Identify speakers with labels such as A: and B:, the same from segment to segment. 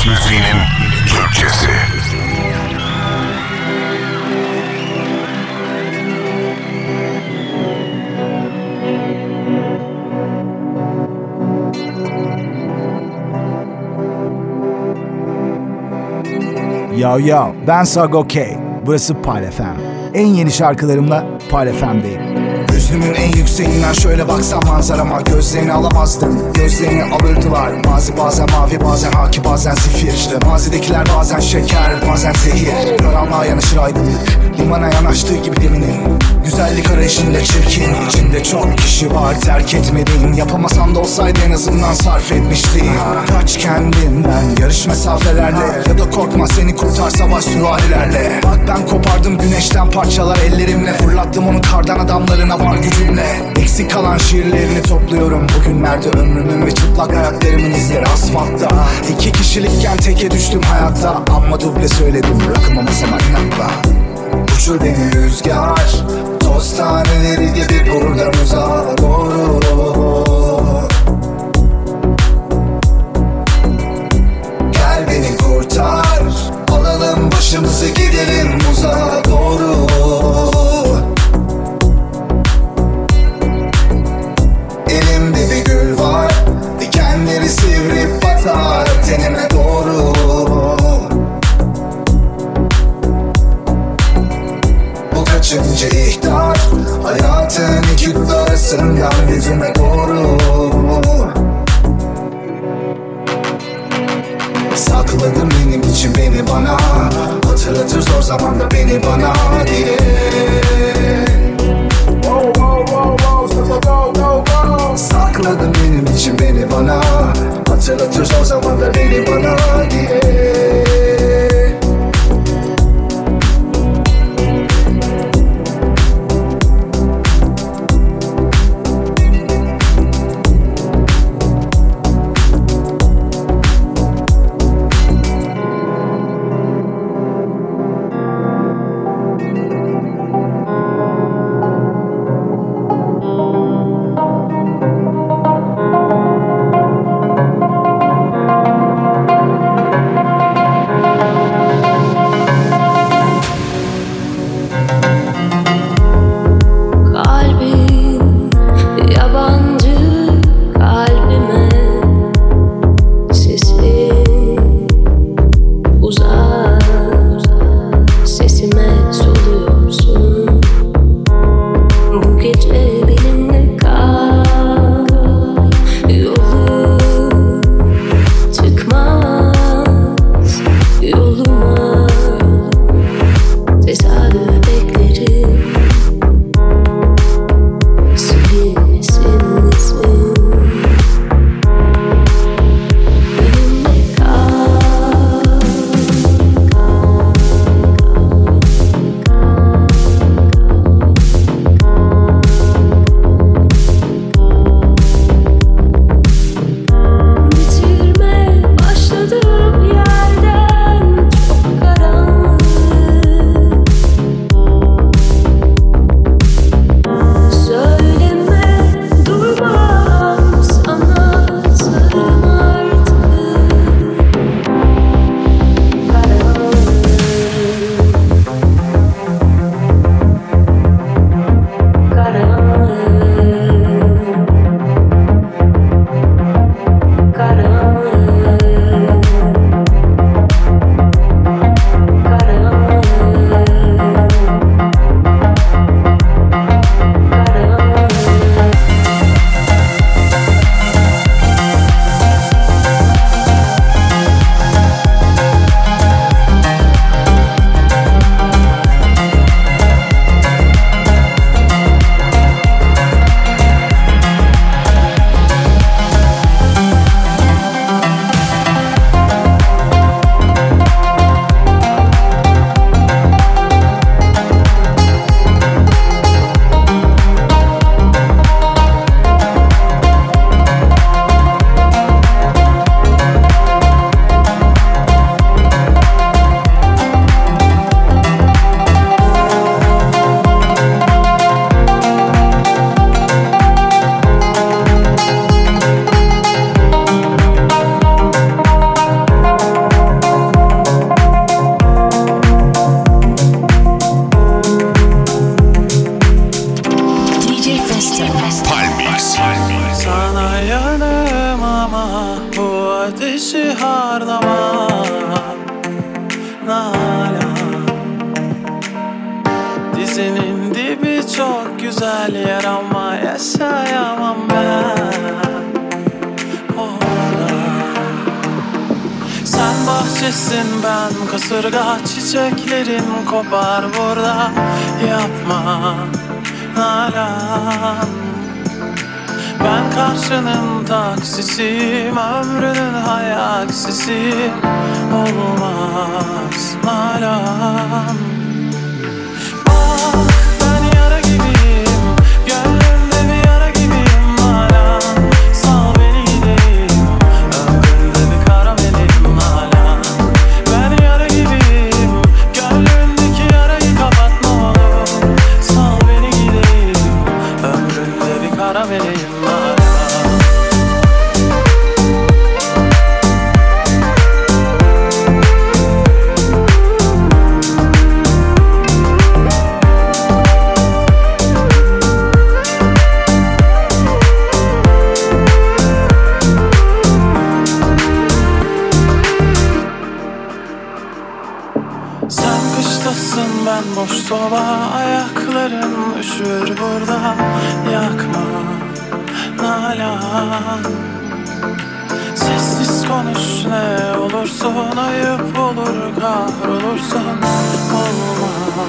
A: House müziğinin Türkçesi.
B: Yo yo, ben Sago K. Burası Pal FM. En yeni şarkılarımla Pal FM'deyim.
C: Gözümün en yükseğinden şöyle baksam manzarama, gözlerini alamazdım, gözlerini alırdılar. Mazi bazen mavi, bazen haki, bazen zifir. İşte mazidekiler bazen şeker, bazen zehir. Karanlığa yanaşır aydınlık, limana yanaştığı gibi deminin. Güzellik arayışında çirkin, içinde çok kişi var, terk etmedin. Yapamasan da olsaydı en azından sarf etmiştin. Kaç kendinden yarış mesafelerle, ya da korkma seni kurtar savaş süvarilerle. Bak ben kopardım güneşten parçalar ellerimle, fırlattım onu kardan adamlarına var gücümle. Eksik kalan şiirlerini topluyorum bugünlerde, ömrümün ve çıplak ayaklarımın izleri asfaltta. 2 kişilikken teke düştüm hayatta, amma duble söyledim rakıma masama inatla. Uçur beni rüzgar, toz taneleri gibi buradan uzağa doğru. Gel beni kurtar, alalım başımızı gidelim uzağa doğru. Elimde bir gül var, dikenleri sivrip batar tenime doğru. Bu kaçıncı ihtar, hayatın iki dut arasından yüzüme doğru. Sakladın benim için beni bana, hatırlatır zor zamanda beni bana diye. Sakladın benim için beni bana, hatırlatır zor zamanda beni bana diye.
D: yaşayamam Nalan. Dizinin dibi çok güzel yer ama yaşayamam ben orada. Sen bahçesin, ben kasırga, çiçeklerin kopar burada. Yapma Nalan. Ben karşının taksisiyim, ömrünün hayaksisiyim. Olmaz Nalan. Bak ben yara gibiyim, gönlümde bir yara gibiyim Nalan. Sal beni gideyim, ömrümde bir karamelim Nalan. Ben yara gibiyim, gönlümdeki yarayı kapat ne olur. Sal beni gideyim, ömrümde bir karamelim Nalan. Sen kıştasın, ben boş soba, ayakların üşür burada. Yakma Nalan. Sessiz konuş ne olursun, ayıp olur kahrolursun. Olma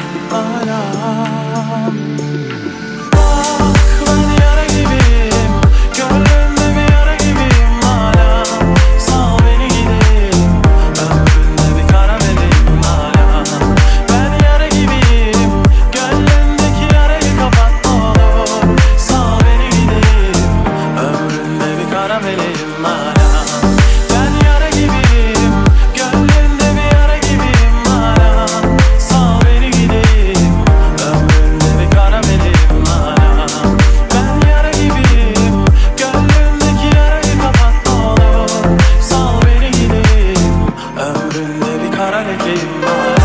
D: Nalan. Bak ben yara gibiyim, gönlümde bir yara gibiyim Nalan. Sal beni gideyim, ömründe bir karamelim Nalan. Ben yara gibiyim, gönlümdeki yarayı kapat ne olur. Sal beni gideyim, ömründe bir karamelim Nalan. Ben yara gibiyim, gönlümde bir yara gibiyim Nalan. Sal beni gideyim, ömründe bir karamelim Nalan. Ben yara gibiyim, gönlümdeki yarayı kapat ne olur. Sal beni gideyim, ömründe bir kara lekeyim Nalan.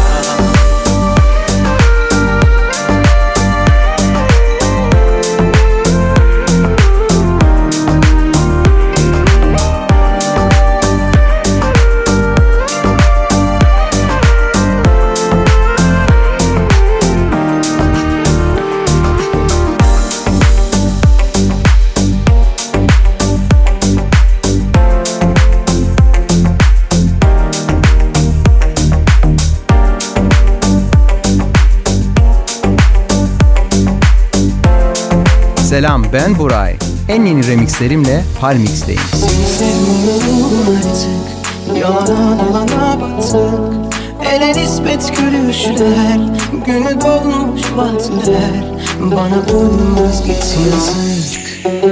E: Selam, ben Buray. En yeni remixlerimle Palmix'teyim.
F: Sevmiyorum artık, yalana dolana battık. Ele nispet gülüşler, günü dolmuş vaatler. Bana uymaz git yazık.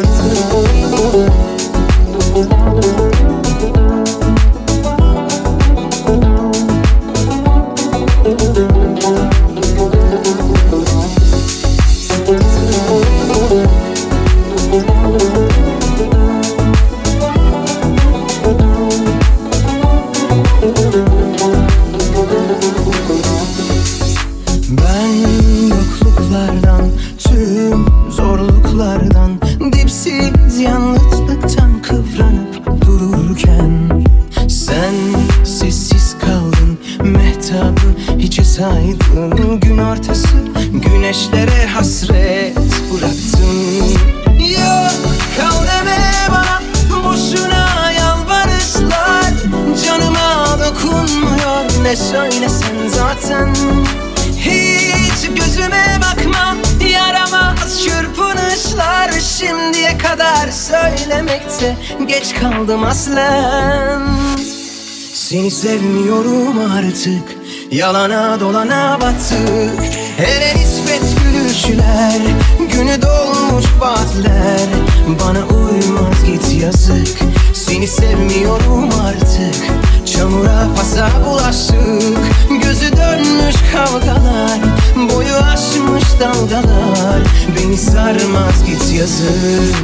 F: Ben yokluklardan, tüm zorluklardan, dipsiz yalnızlıktan kıvranıp dururken sen sessiz kaldın, mehtabı hiçe saydın. Gün ortası güneşlere hasret bıraktın. Yok kal deme bana, boşuna yalvarışlar. Canıma dokunmuyor ne söylesen zaten. Hiç gözüme bakma, yaramaz çırpınışlar. Şimdiye kadar söylemekte geç kaldım aslen. Seni sevmiyorum artık, yalana dolana battık. Hele nispet gülüşler, günü dolmuş vaatler. Bana uymaz git yazık. Seni sevmiyorum artık, çamura pasa bulaştık. Gözü dönmüş kavgalar, boyu aşmış dalgalar. Beni sarmaz git yazık.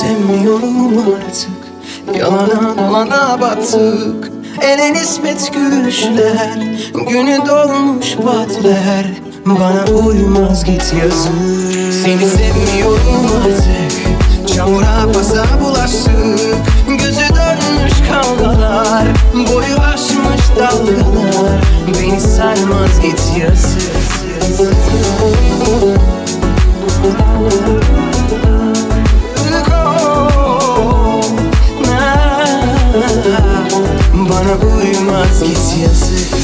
F: sevmiyorum artık. Yalana dolana battık. Ele nispet gülüşler, günü dolmuş patlar. Bana uymaz git yazık. Seni sevmiyorum artık. Çamura pasa bulaştık. Gözü dönmüş kavgalar, boyu aşmış dalgalar. Beni sarmaz git yazık. Bana uymaz git yazık.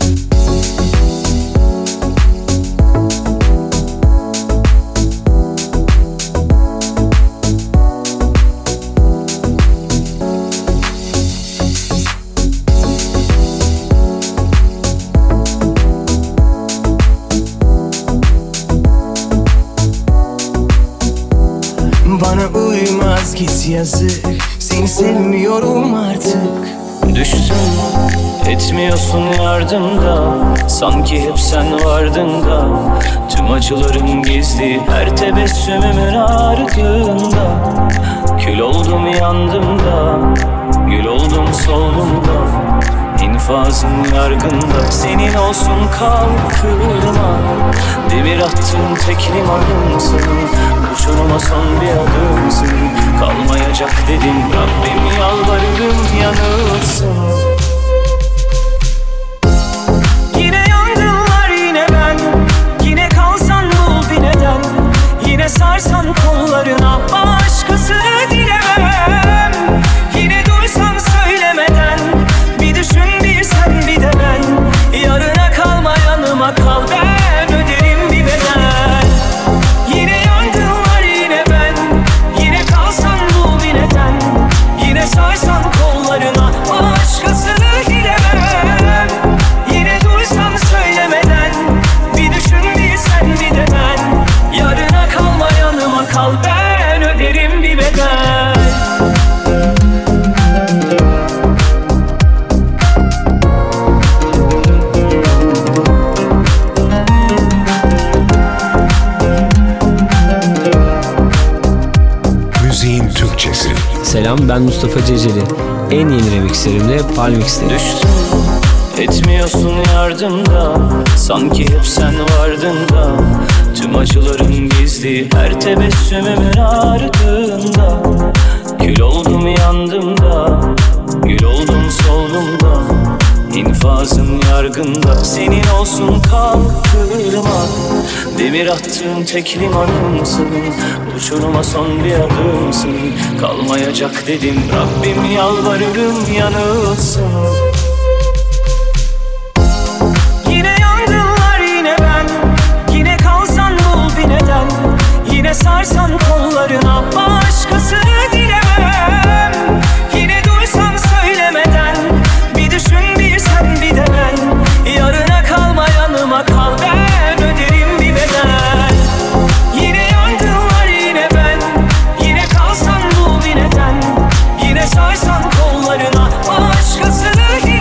F: Bana uymaz git yazık. Seni sevmiyorum artık.
D: Düştüm, etmiyorsun yardımda. Sanki hep sen vardın da. Tüm acılarım gizli, her tebessümümün ardında. Kül oldum yandım da, gül oldum soldum da. İnfazın yargında, senin olsun kalkırma. Demir attığın tek limanımsın. Uçuruma son bir adımsın. Kalmayacak dedim Rabbim, yalvarırım yanılsın. Yine yangınlar yine ben. Yine kalsan bul bir neden. Yine sarsan kollarına, başkasını dilemem. Yine duysan söylemeden. Bir düşün bir sen bir de ben. Yarına kalma yanıma kal, ben öderim bir bedel. Yine yangınlar yine ben. Yine kalsan bul bir neden. Yine sarsan kollarına, başkasını dilemem. Yine duysan söylemeden. Bir düşün bir sen bir de ben. Yarına kalma yanıma kal, ben öderim bir bedel.
A: Müziğin Türkçesi.
G: Selam, ben Mustafa Ceceli. En yeni remixlerimle Palmix'teyim.
D: Düştüm, etmiyorsun yardımda. Sanki hep sen vardın da. Tüm acılarım gizli, her tebessümümün ardında. Kül oldum yandım da, gül oldum soldum da. İnfazın yargında, senin olsun kalkırma. Demir attığın tek limanımsın. Uçuruma son bir adımsın. Kalmayacak dedim Rabbim, yalvarırım yanılsın. Yine yangınlar yine ben. Yine kalsan bul bir neden. Yine sarsan kollarına, başkasını dilemem. Yine duysan söylemeden. Bir düşün bir sen bir de ben. Yarına kalma yanıma kal, ben öderim bir bedel. Yine yangınlar yine ben. Yine kalsan bul bir neden. Yine sarsan kollarına, başkasını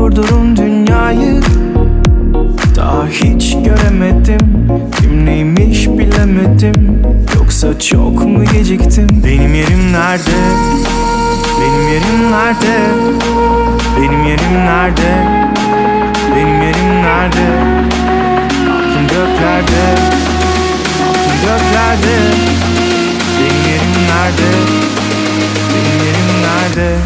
F: Durdurun dünyayı, daha hiç göremedim. Kim neymiş bilemedim, yoksa çok mu geciktim? Benim yerim nerede? Benim yerim nerede? Benim yerim nerede? Benim yerim nerede? Aklım göklerde, aklım göklerde. Benim yerim nerede? Benim yerim nerede?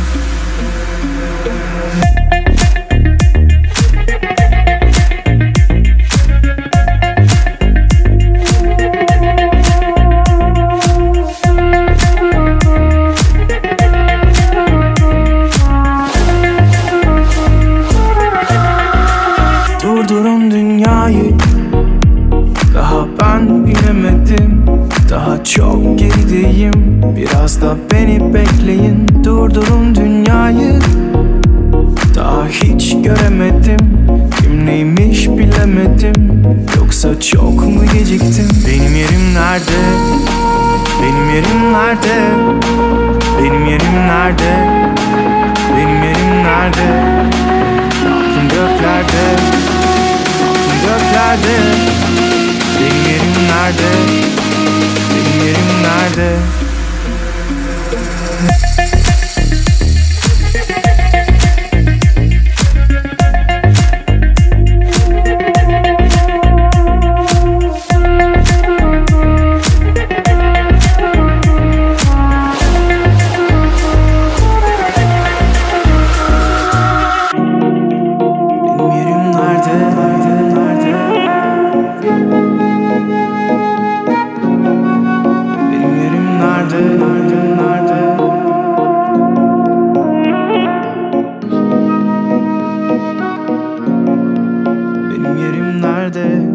F: Durdurun dünyayı, daha ben bilemedim. Daha çok gerideyim, biraz da beni bekleyin. Durdurun dünyayı, daha hiç göremedim. Kim neymiş bilemedim, yoksa çok mu geciktim? Benim yerim nerede? Benim yerim nerede? Benim yerim nerede? Benim yerim nerede? Aklım göklerde, aklım göklerde. Benim yerim nerede? Benim yerim nerede? Benim yerim nerede?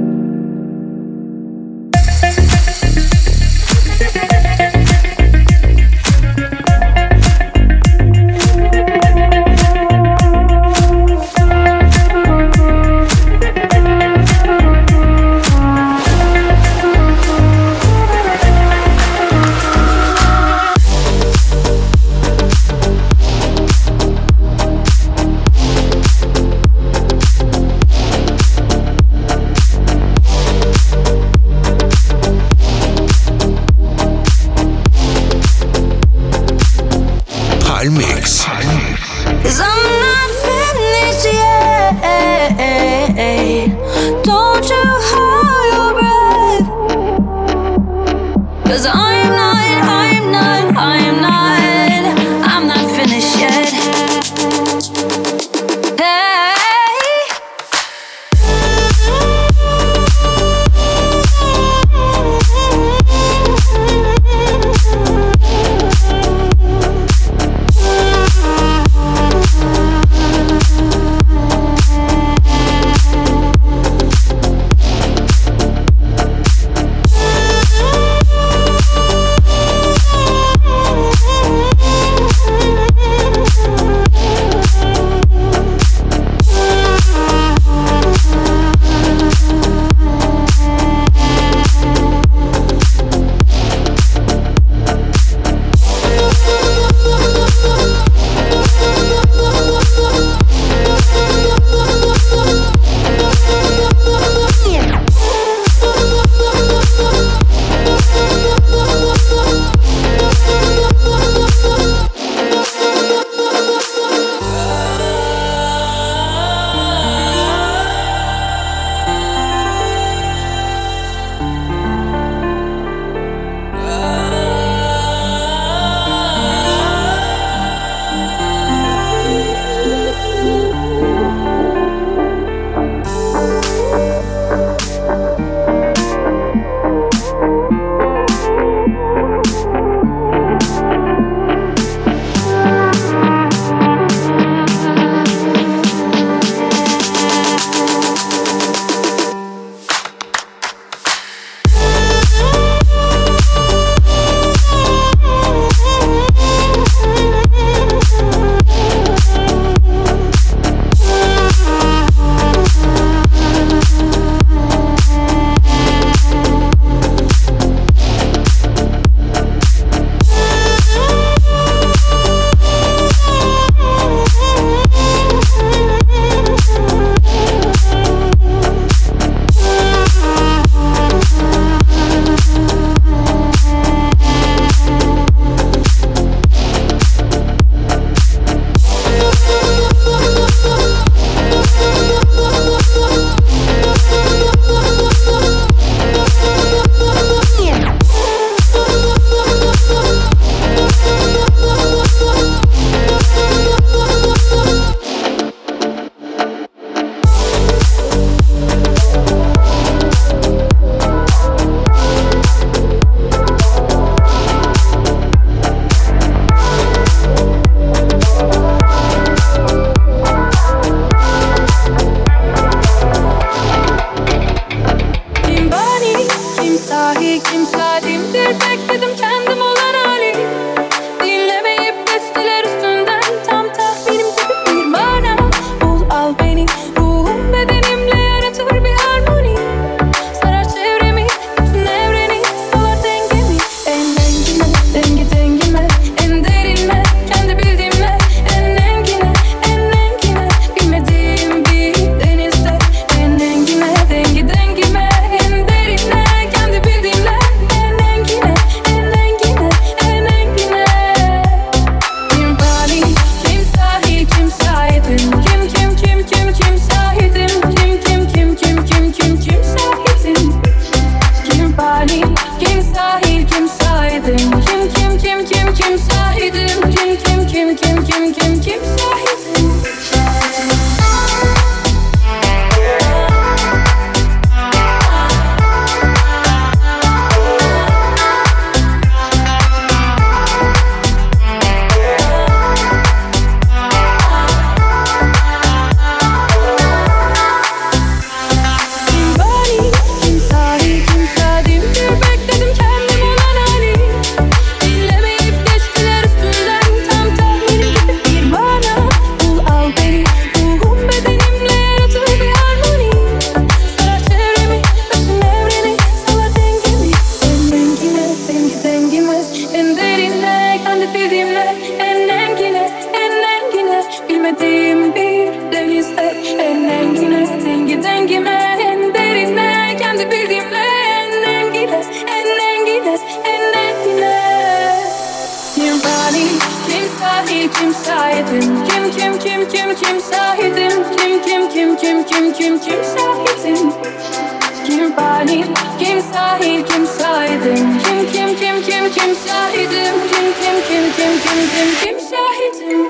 H: Kim şahidim? Kim falim? Kim sahil? Kim şahidim? Kim şahidim? Kim şahidim?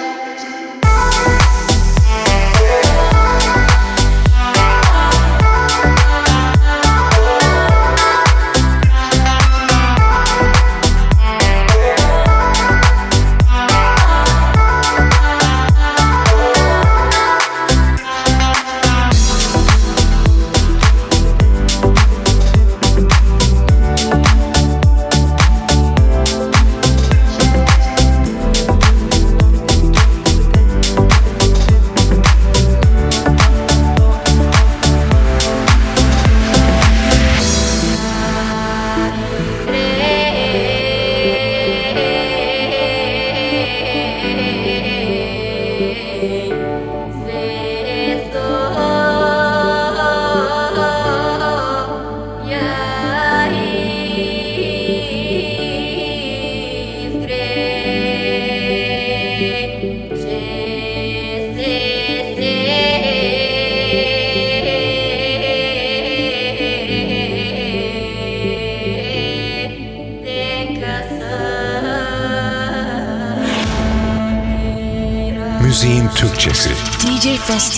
A: Müziğin Türkçesi.
I: DJ Festo.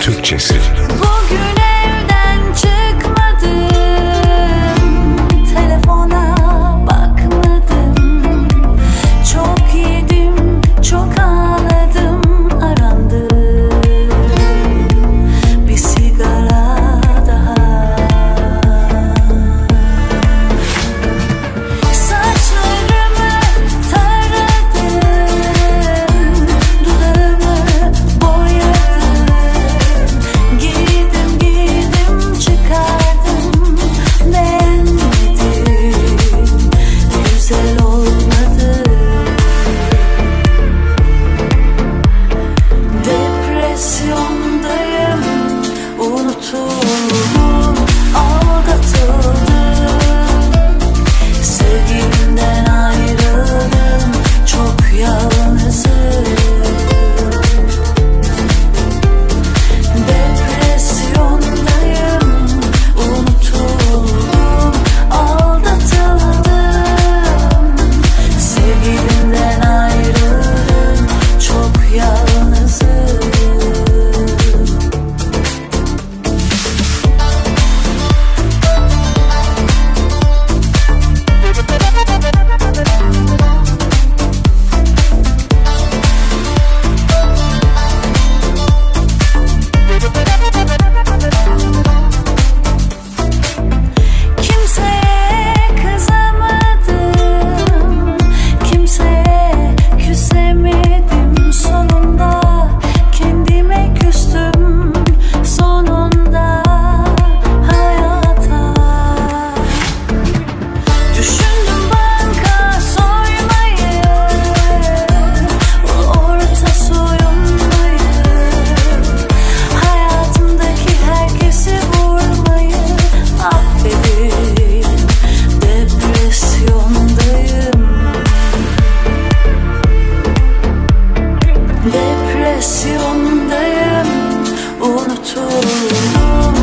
A: Türkçesi.
H: Bugün evden çıkmadım, telefona bakmadım. Çok yedim, çok ağladım, arandım. Bir sigara daha. Saçlarımı taradım, dudağımı boyadım. Giydim çıkardım, beğenmedim, güzel olmadı. Depresyondayım, unutuldum, aldatıldım. Sevgilimden ayrıldım, çok yalnızım. Depresyondayım, unutuldum, aldatıldım. Sevgilimden ayrıldım, çok yalnızım. Kimseye kızamadım, kimseye küsemedim. Sonunda kendime küstüm, sonunda hayata. Düşündüm banka soymayı, orta soyunmayı, hayatımdaki herkesi vurmayı. Affedin, depresyondayım. Depresyondayım, unutuldum,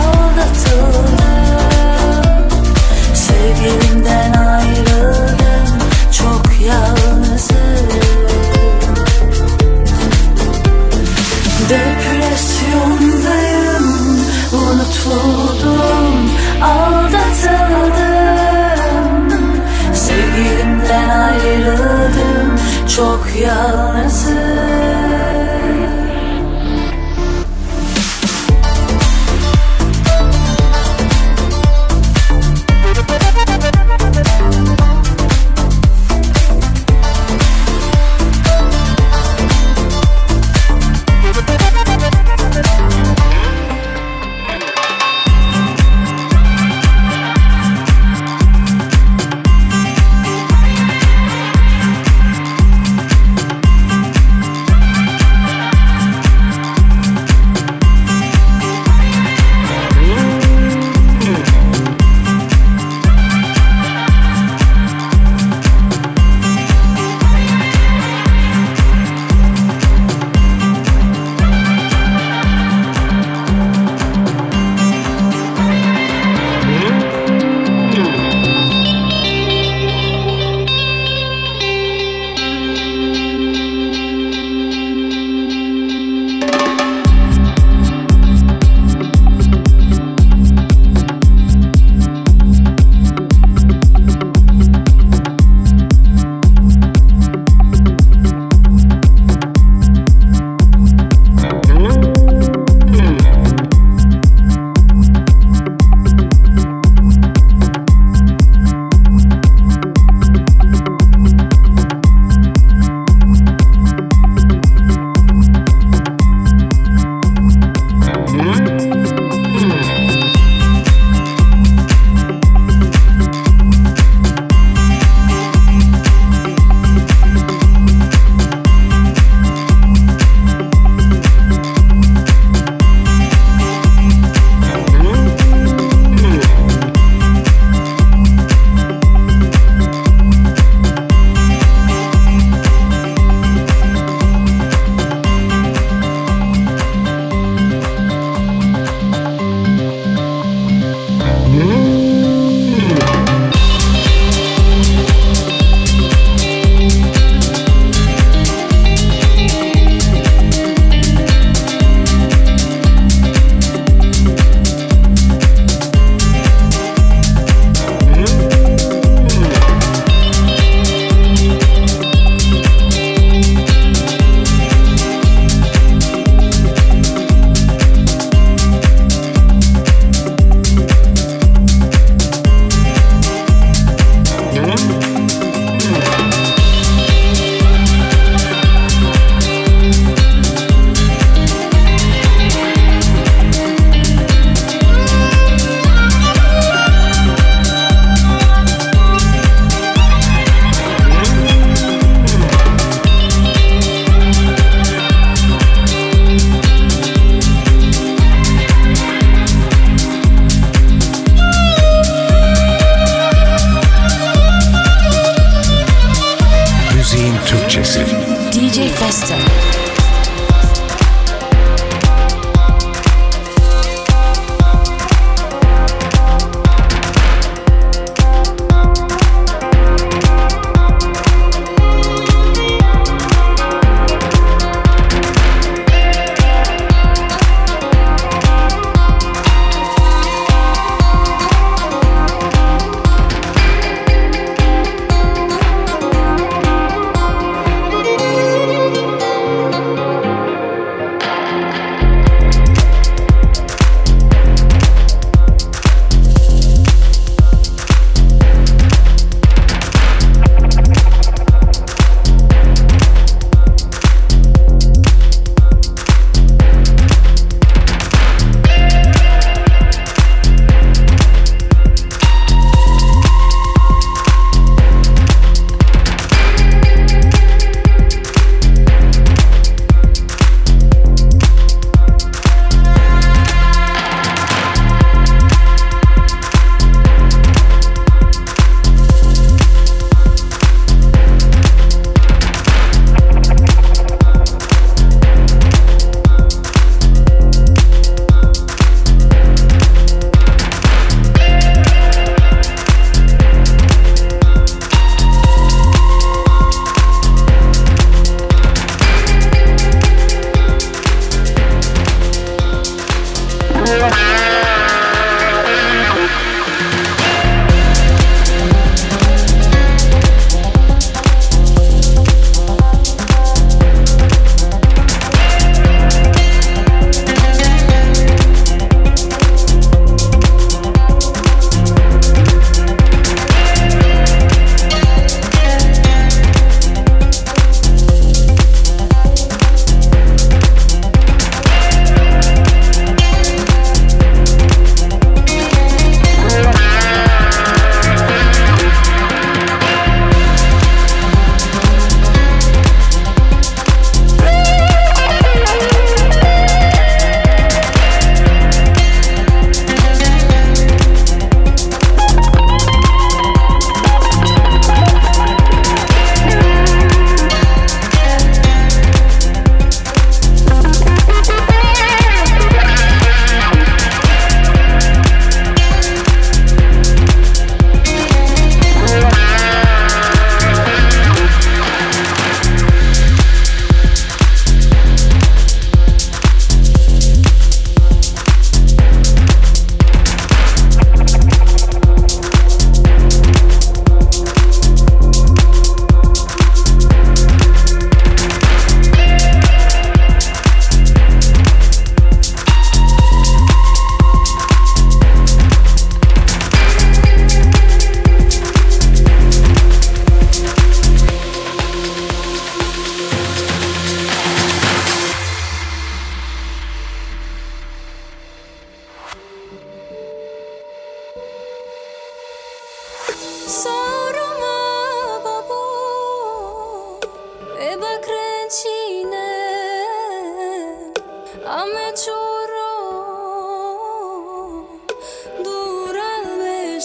H: aldatıldım. Sevgilimden ayrıldım, çok yalnızım. Depresyondayım, unutuldum, aldatıldım. Sevgilimden ayrıldım, çok yalnızım.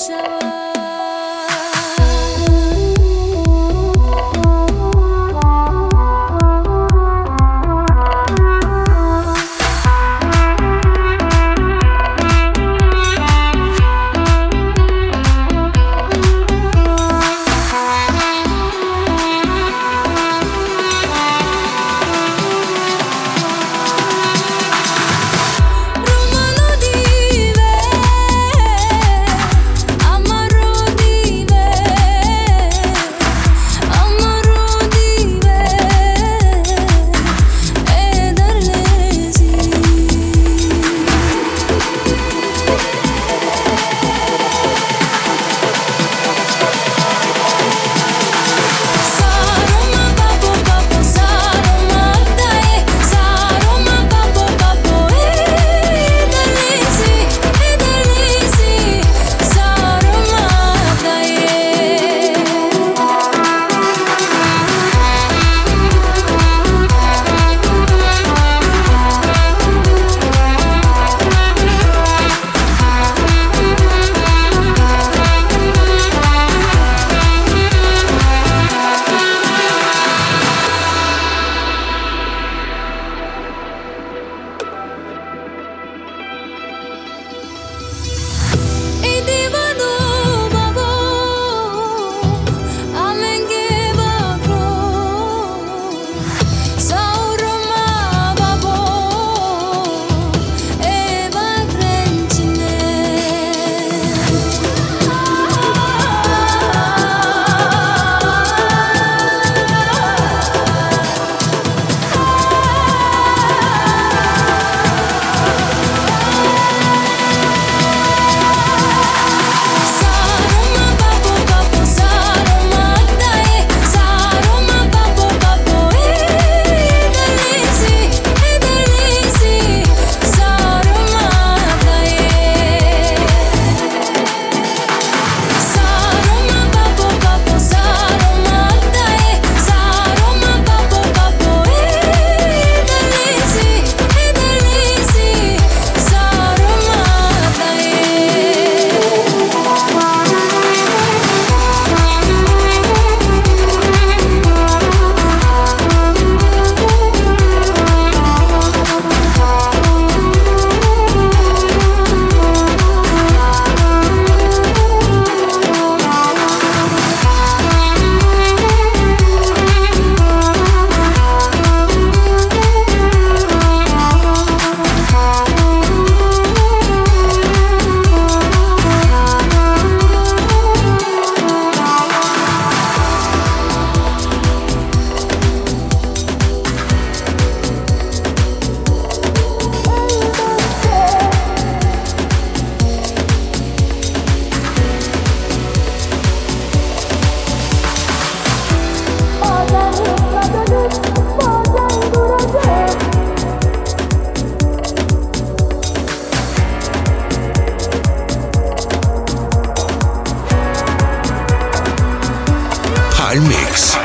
A: Mix.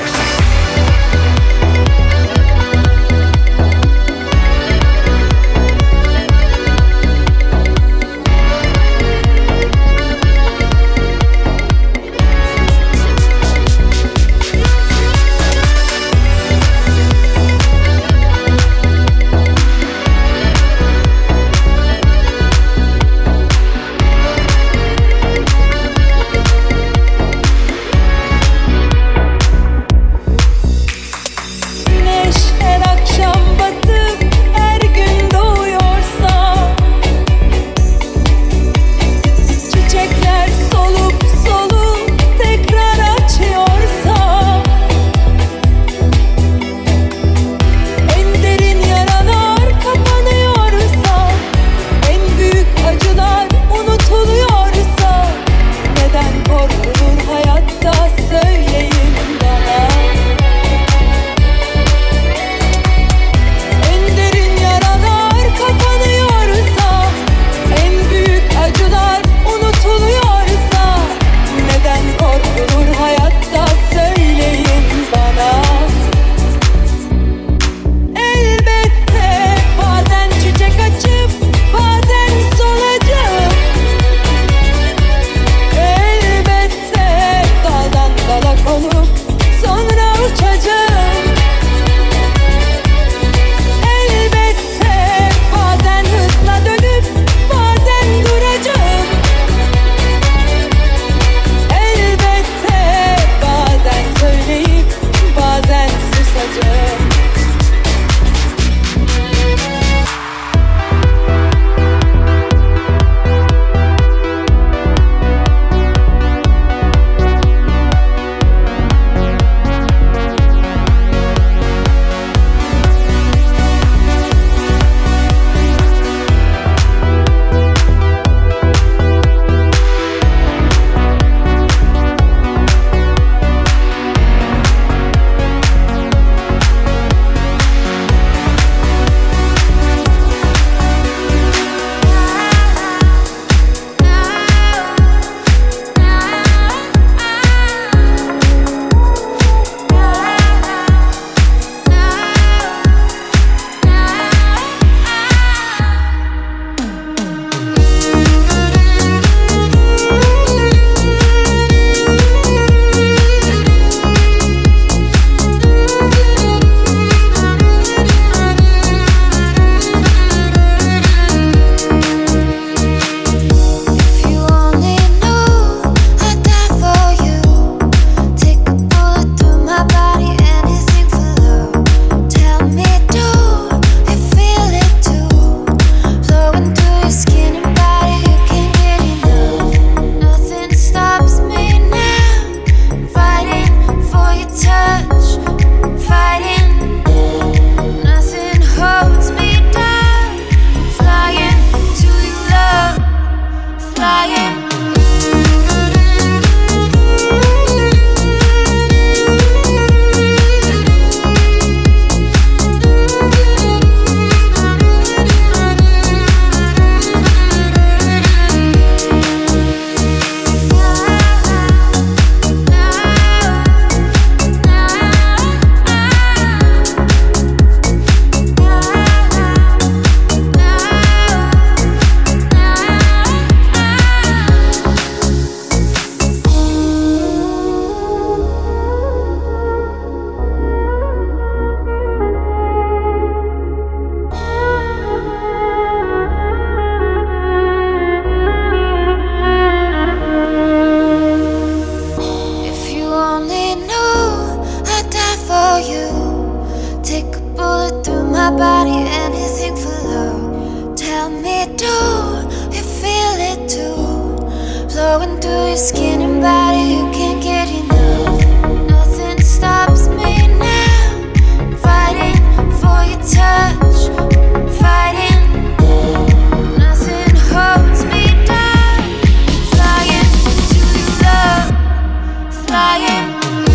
I: flowing through your skin and body, you can't get enough. Nothing stops me now. Fighting for your touch, fighting. Nothing holds me down. Flying to your love, flying.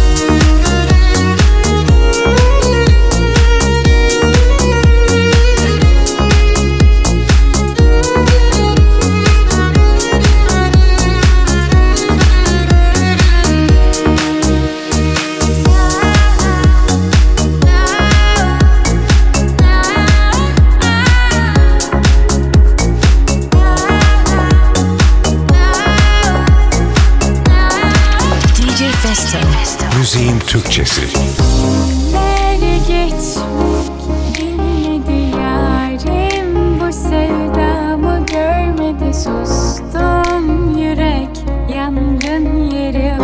A: Müziğin Türkçesi.
J: Nereye geçmek bilmedi yarim, bu sevdamı görmedi, sustum yürek yangın yeri.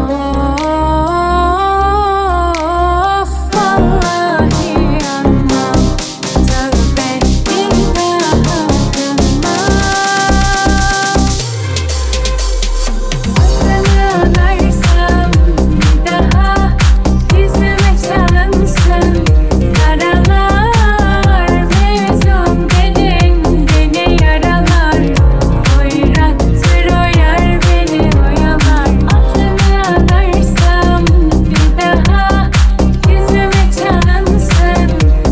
J: Of vallahi anlam, tövbe bir daha dönmem. Adını anarsam bir daha yüzüme çalınsın karalar, mevzum dedin beni yaralar, oyrattır oyar beni oyalar. Adını anarsam bir daha yüzüme çalınsın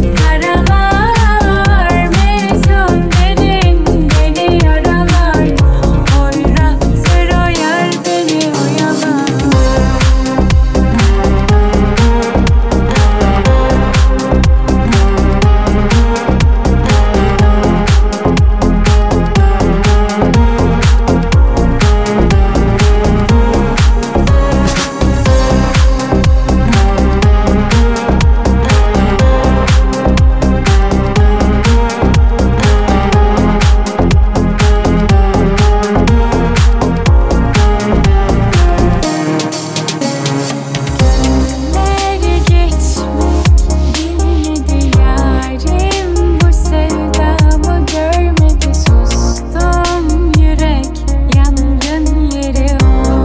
J: karalar, mevzum dedin beni yaralar, oyrattır oyar beni oyalar. Nereye geçmek bilmedi yarim, bu sevdamı görmedi, sustum yürek yangın yeri.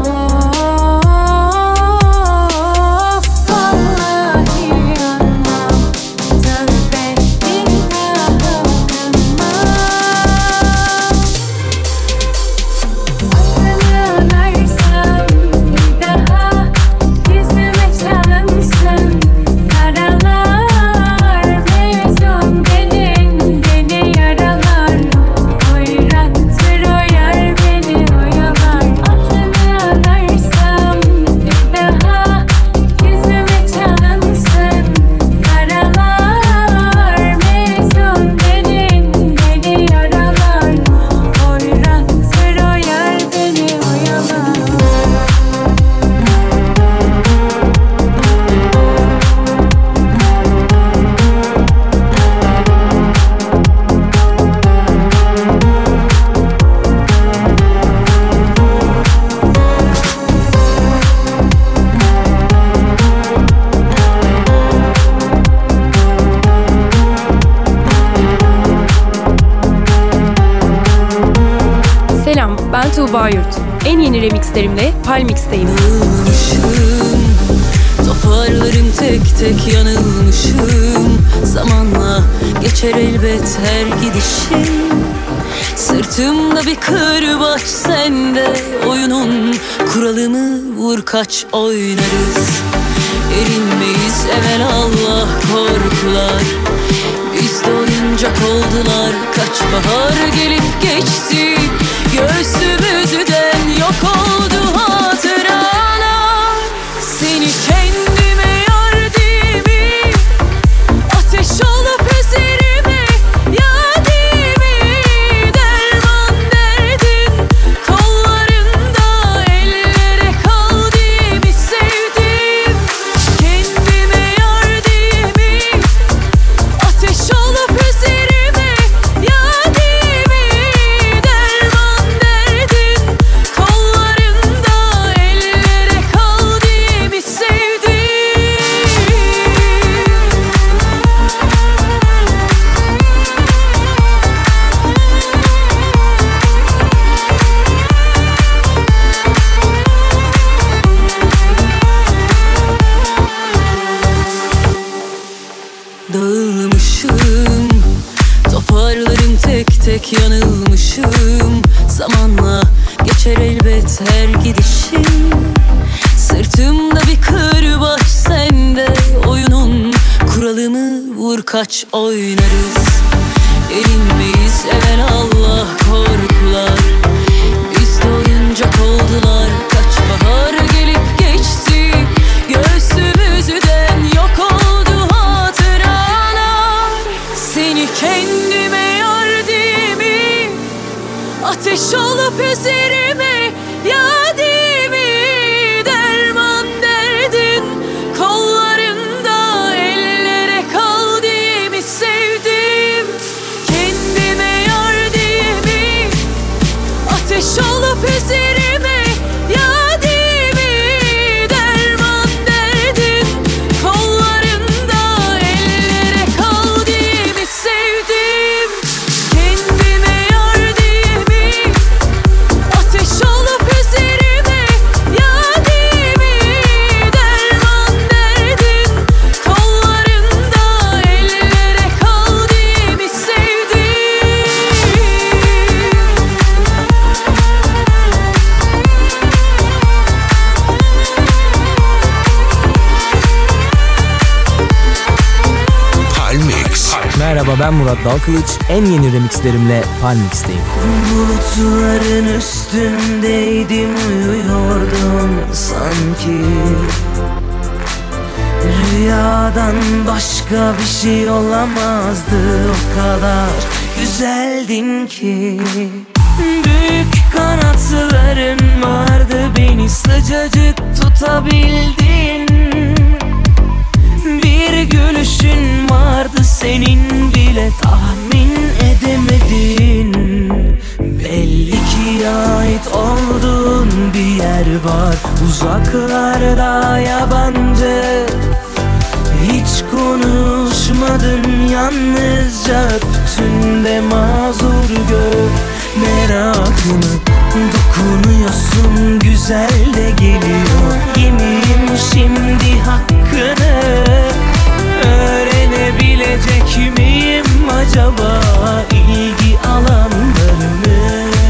J: Of vallahi anlam, tövbe bir daha dönmem. Adını anarsam bir daha yüzüme çalınsın karalar, mevzum dedin beni yaralar, oyrattır oyar beni oyalar. Adını anarsam bir daha yüzüme çalınsın karalar, mevzum dedin beni yaralar, oyrattır oyar beni oyalar.
K: Selam, ben Tuğba Yurt. En yeni remixlerimle Palmix'teyim.
H: Toparlarım tek tek, yanılmışım. Zamanla geçer elbet her gidişim. Sırtımda bir kırbaç sende, oyunun kuralını vur kaç oynarız. Erinmeyiz evelallah korkular, bizde oyuncak oldular. Kaç bahar gelip geçti, göğsümüzden yok oldu hatıralar. Seni kendime yar dimi, ateş olup üzerime yadimi. Derman derdin kollarında, ellere kaldığımı sevdim. Kendime yar dimi, ateş olup üzerime yadimi. Derman derdin geçer elbet her gidişim. Sırtımda bir kırbaç sende, oyunun kuralını vur kaç oynarız. Erinmeyiz evvel Allah korkular, bizde oyuncak oldular. Kaç bahar gelip geçti, göğsümüzden yok oldu hatıralar. Seni kendime yar diye mi, ateş olup üzerime yadi mi? Derman derdin kollarında, ellere kal diye mi sevdim? Kendime yar diye mi, ateş olup üzerime yadi mi? Derman derdin kollarında, ellere kal diye mi sevdim? Kendime yar diye mi, ateş olup üzerime yadi mi? Derman derdin kollarında, ellere kal diye mi sevdim?
A: Palmix.
L: Merhaba, ben Murat Dalkılıç. En yeni remixlerimle Palmix'teyim.
F: Bulutların üstündeydim, uyuyordum sanki. Rüyadan başka bir şey olamazdı, o kadar güzeldin ki. Büyük kanatların vardı, beni sıcacık tutabildin. Bir gülüşün vardı, senin bile tahmin edemedin. Belli ki ait olduğun bir yer var, uzaklarda yabancı. Hiç konuşmadın, yalnızca öptün de mazur görüp merakını. Dokunuyorsun, güzel de geliyor. Yemeyeyim şimdi hakkını. Öğrenebilecek miyim acaba ilgi alanlarını?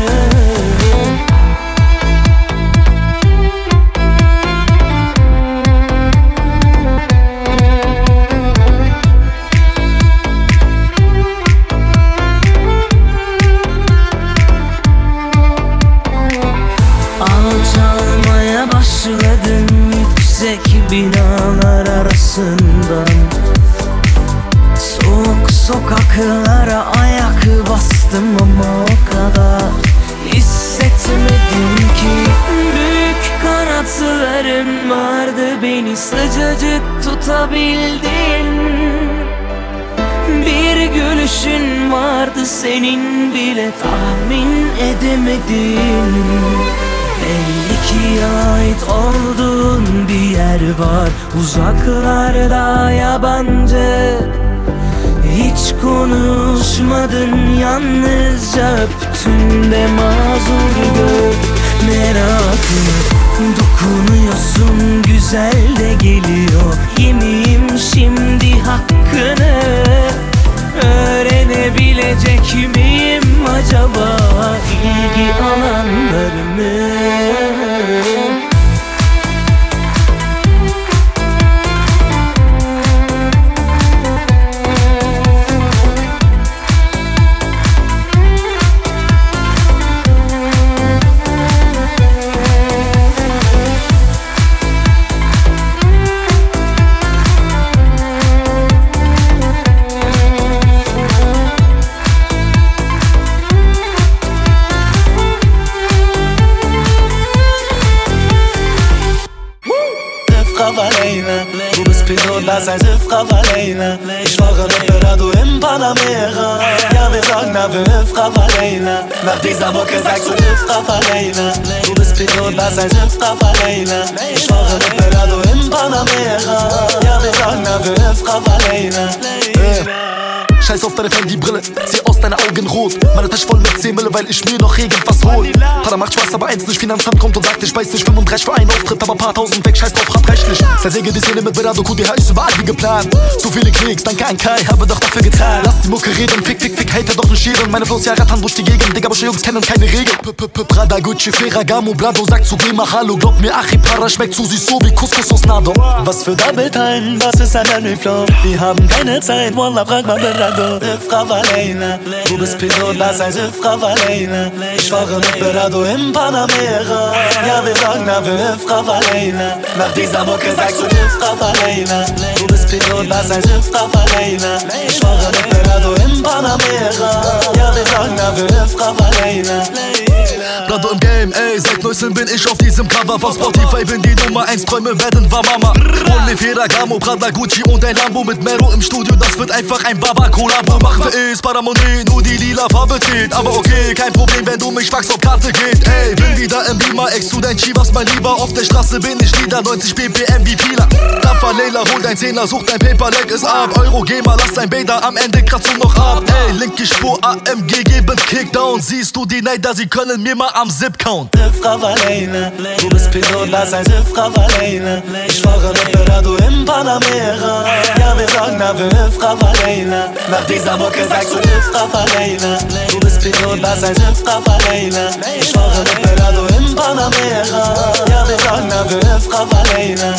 F: Alçalmaya başladım yüksek binalar arasından. Soğuk sokaklara ayak bastım ama o kadar hissetmedim ki. Büyük kanatların vardı, beni sıcacık tutabildin. Bir gülüşün vardı, senin bile tahmin edemedin. Belli ki ait olduğun bir yer var, uzaklarda yabancı. Hiç konuşmadın, yalnızca öptün de mazur gör merakını. Dokunuyorsun, güzel de geliyor. Yemeyeyim şimdi hakkını. Öğrenebilecek miyim acaba ilgi alanlarını?
D: Du bist Pilot, lass ein Siff Ravalena. Ich fahre mit Berado im Panamera. Ja, wir sagen, na, wir Hüff Ravalena. Nach dieser Mucke sagst du Hüff Ravalena. Du bist Pilot, lass ein Siff Ravalena. Ich fahre mit Berado im Panamera. Ja, wir sagen, na, wir Hüff Ravalena.
M: Scheiß auf deine Fendi-Brille, zieh aus deine Augen rot. Meine Tasche voll mit 10 Mille, weil ich mir noch irgendwas hol. Para macht Spaß, aber eins nicht, Finanzamt kommt und sagt, ich weiß nicht, 35 für einen Auftritt, aber paar tausend weg, scheiß drauf, hart rechtlich. Zersäge die Szene mit Berado, QDH ist überall wie geplant. So viele Klicks, danke an Kai, habe doch dafür getan. Lass die Mucke reden, fick, hater doch nicht scheren. Meine Flows ja rattern durch die Gegend, Digga, aber Jungs kennen keine Regeln. Prada, Gucci, Ferragamo, Blado, sagt zu geh mal Hallo. Glaub mir, Achipara schmeckt zu süß, so wie Couscous aus Nado.
D: Was für Double Time, was ist ein Henry Flow? Wir haben keine Zeit, Wallah, frag mal Berado. Frau Valena, du bist Pilot, lass ein Frau Valena. Ich fahre mit Berado im Panamera. Ja, wir sagen, na, wir Frau Valena. Nach dieser Mucke sagst du Frau Valena. Du bist Pilot, lass ein Frau Valena. Ich fahre mit Berado im Panamera. Ja, wir sagen, na, wir Frau Valena.
M: Blado im Game, ey, seit 19 bin ich auf diesem Cover von Spotify, bin die Nummer 1, Träume werden wahr, Mama. Hol mir Ferragamo, Prada, Gucci und ein Lambo mit Mero im Studio, das wird einfach ein Baba-Kollabo. Machen wir es, Paramonie, nur die lila Farbe zählt. Aber okay, kein Problem, wenn du mich fragst, ob Karte geht. Ey, bin wieder im Beamer, ex zu dein Chivas, mein Lieber. Auf der Straße bin ich wieder, 90 BPM wie Pila. Rafa Leila, hol dein Zehner, such dein Paper, leg es ab. Euro, geh mal, lass dein Bader, am Ende kratzt du noch ab. Ey, linke Spur, AMG, geben Kickdown. Siehst du die Neider, sie können mir mal am Zip count.
D: Frau Valena, du bist Pilot, lass ein Frau Valena. Ich fahre mit Berado im Panamera. Ja, wir sagen, na, wir Frau Valena. Nach dieser Mucke sagst du Frau Valena. Du bist Pilot, lass ein Frau Valena. Ich fahre mit Berado im Panamera. Ja, wir sagen, na, wir Frau Valena.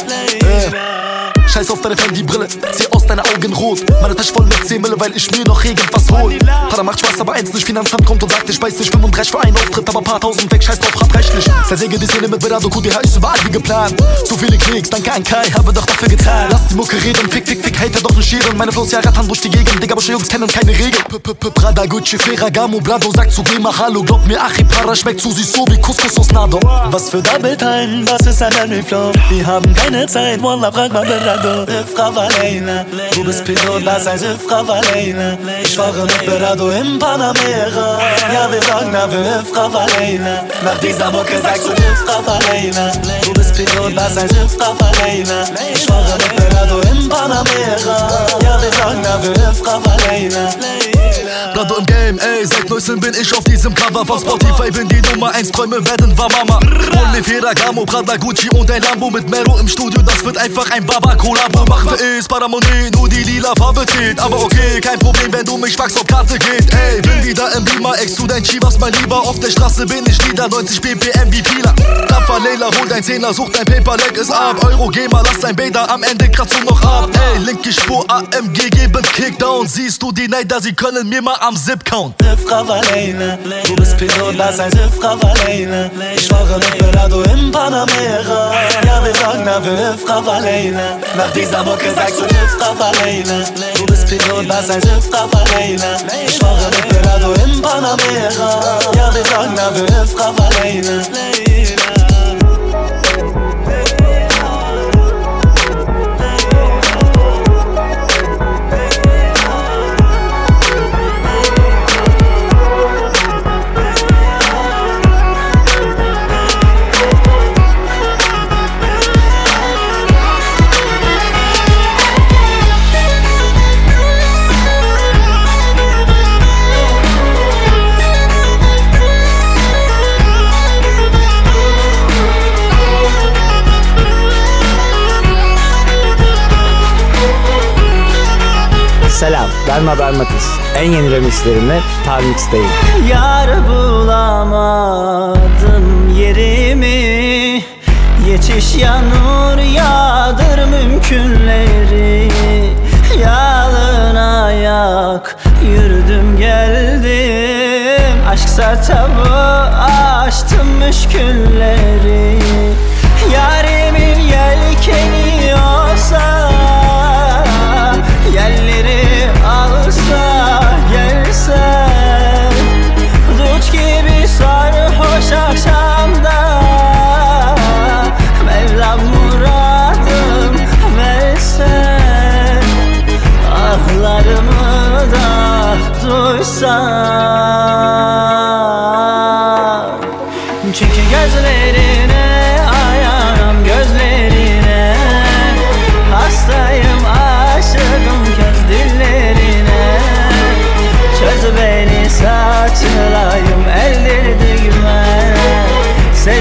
M: Scheiß auf deine Fendi-Brille, zieh aus deine Augen rot. Meine Tasche voll mit 10 Mille, weil ich mir noch irgendwas hol. Pada macht Spaß, aber eins nicht, Finanzamt kommt und sagt, ich weiß nicht, 35 für einen Auftritt, aber paar tausend weg, scheiß drauf, hart rechtlich. Zersäge die Szene mit Berado, QDH ist überall wie geplant. So viele Klicks, danke an Kai, habe doch dafür getan. Lass die Mucke reden, fick, hater doch nicht scheren. Meine Flows ja rattern durch die Gegend, Digga, aber Jungs kennen keine Regeln. Prada, Gucci, Ferragamo, Blado, sagt zu geh mal Hallo. Glaub mir, Achipara schmeckt zu süß, so wie Couscous aus Nado.
D: Was für Double Time, was ist ein Henry Flow? Wir haben keine Zeit, Wallah, frag mal Berado. Frau Valena, du bist Pilot, lass ein Frau Valena. Ich fahre mit Berado im Panamera. Ja, wir sagen, na, wir Frau Valena. Nach dieser Mucke sagst du Frau Valena. Du bist Pilot, lass ein Frau Valena. Ich fahre mit Berado im Panamera. Ja, wir sagen, na, wir Frau Valena.
M: Blado im Game, ey, seit 19 bin ich auf diesem Cover von Spotify, bin die Nummer 1, Träume werden wahr, Mama. Hol mir Ferragamo, Prada, Gucci und ein Lambo mit Mero im Studio, das wird einfach ein Baba-Kollabo. Machen wir es, Paramonie, nur die lila Farbe zählt. Aber okay, kein Problem, wenn du mich fragst, ob Karte geht. Ey, bin wieder im Beamer, ex zu dein Chivas, mein Lieber. Auf der Straße bin ich wieder, 90 BPM wie Pila. Rafa Leila, hol dein Zehner, such dein Paper, leg es ab. Euro, geh mal, lass dein Bader, am Ende kratzt du noch ab. Ey, linke Spur, AMG, geben Kickdown. Siehst du die Neider, sie können mir mal am Zip count.
D: Frau Valena, du bist Pilot, lass ein Frau Valena. Ich fahre mit Berado im Panamera. Ja, wir sagen, na, wir Frau Valena. Nach dieser Mucke sagst du Frau Valena. Du bist Pilot, lass ein Frau Valena. Ich fahre mit Berado im Panamera. Ja, wir sagen, na, wir Frau Valena.
N: Selam, ben Mabel Matiz. En yeni remixlerimle Parmix'teyim.
F: Yar bulamadım yerimi. Yetiş yanur yağdır mümkünleri. Yalın ayak yürüdüm geldim. Aşksa tabu açtım müşkülleri. Yarimin yelkeni olsa, yerleri alsa gelsen, dut gibi sarhoş akşamda, Mevlam muradım versen, ahlarımı da duysan. Çünkü gözlerine ayağım gözlerine, hastayım aşığım köz dillerine. Çöz beni saçılayım eldirdigme,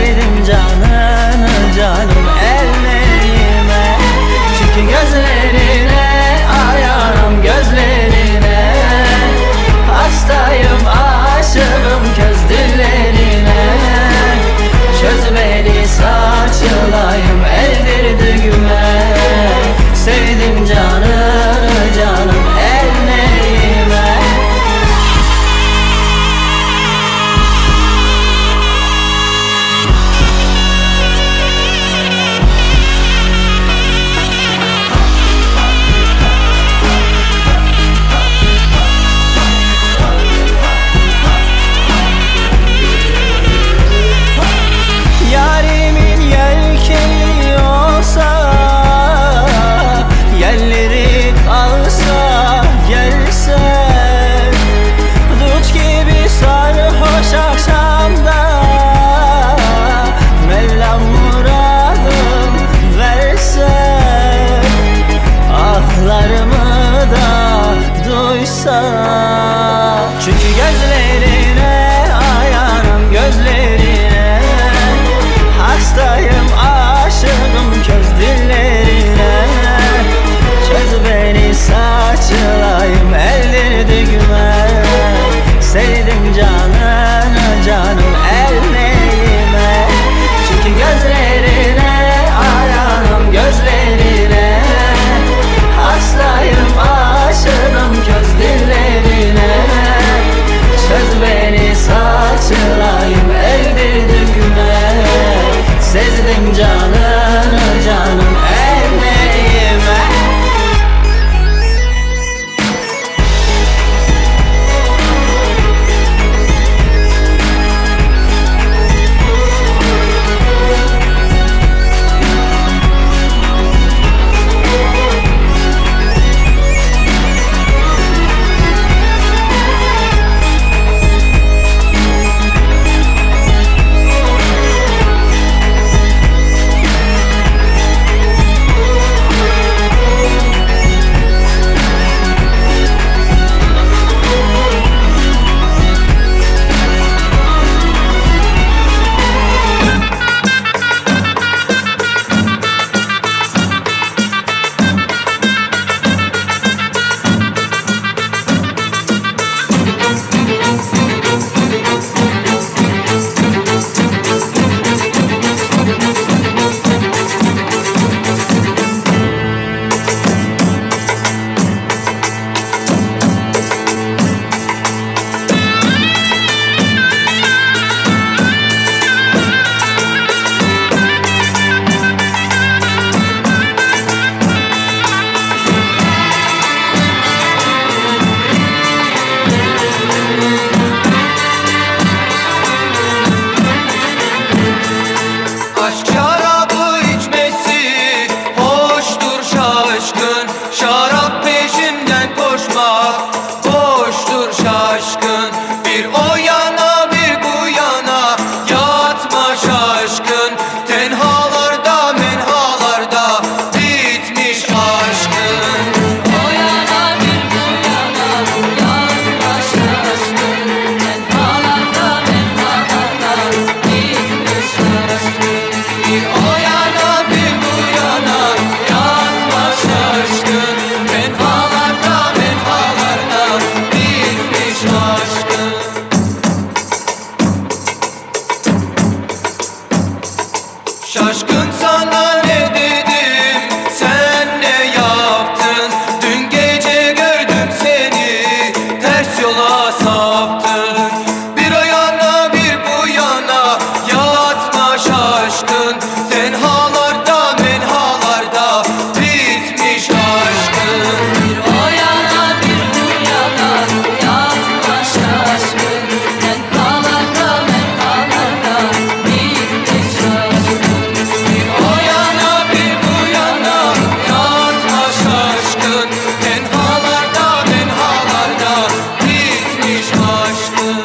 D: Şaşkın sana ne dedim, sen ne yaptın? Dün gece gördüm seni, ters yola saptın. Bir o yana bir bu yana, yatma şaşkın. Tenhalarda menhalarda bitmiş aşkın.
H: Bir o yana bir bu yana, yatma şaşkın. Tenhalarda menhalarda bitmiş aşkın.
D: Bir o yana bir bu yana, yatma şaşkın. Tenhalarda menhalarda bitmiş aşkın.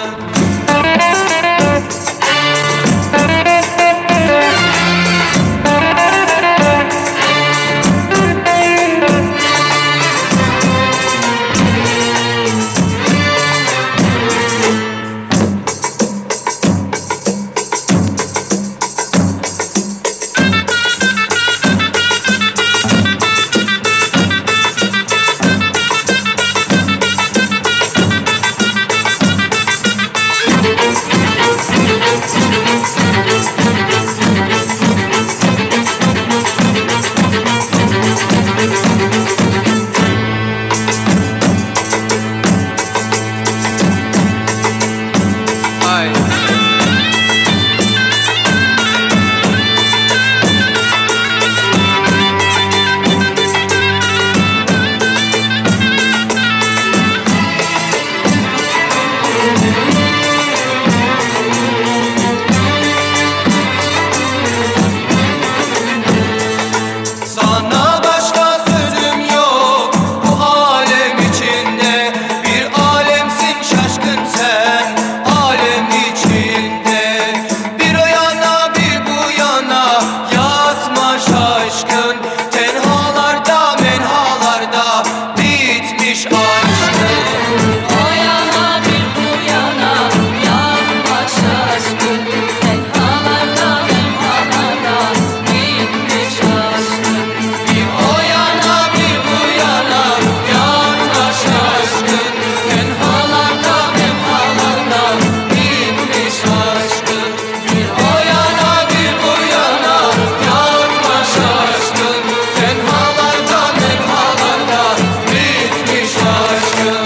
D: Sana başka sözüm yok bu alem içinde. Bir alemsin şaşkın sen alem içinde. Bir o yana bir bu yana, yatma şaşkın. Tenhalarda menhalarda bitmiş aşkın.
H: O yana bir bu yana, yatma şaşkın. Tenhalarda menhalarda bitmiş aşkın.
D: Bir o yana bir bu yana, yatma şaşkın. Tenhalarda menhalarda bitmiş aşkın. Bir o yana bir bu yana, yatma şaşkın. Tenhalarda menhalarda bitmiş aşkın.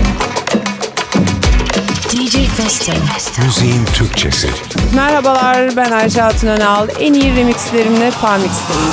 O: DJ Festo.
A: Müziğin Türkçesi.
P: Merhabalar, ben Ayşe Hatun Önal. En iyi remixlerimle Parmix'teyim.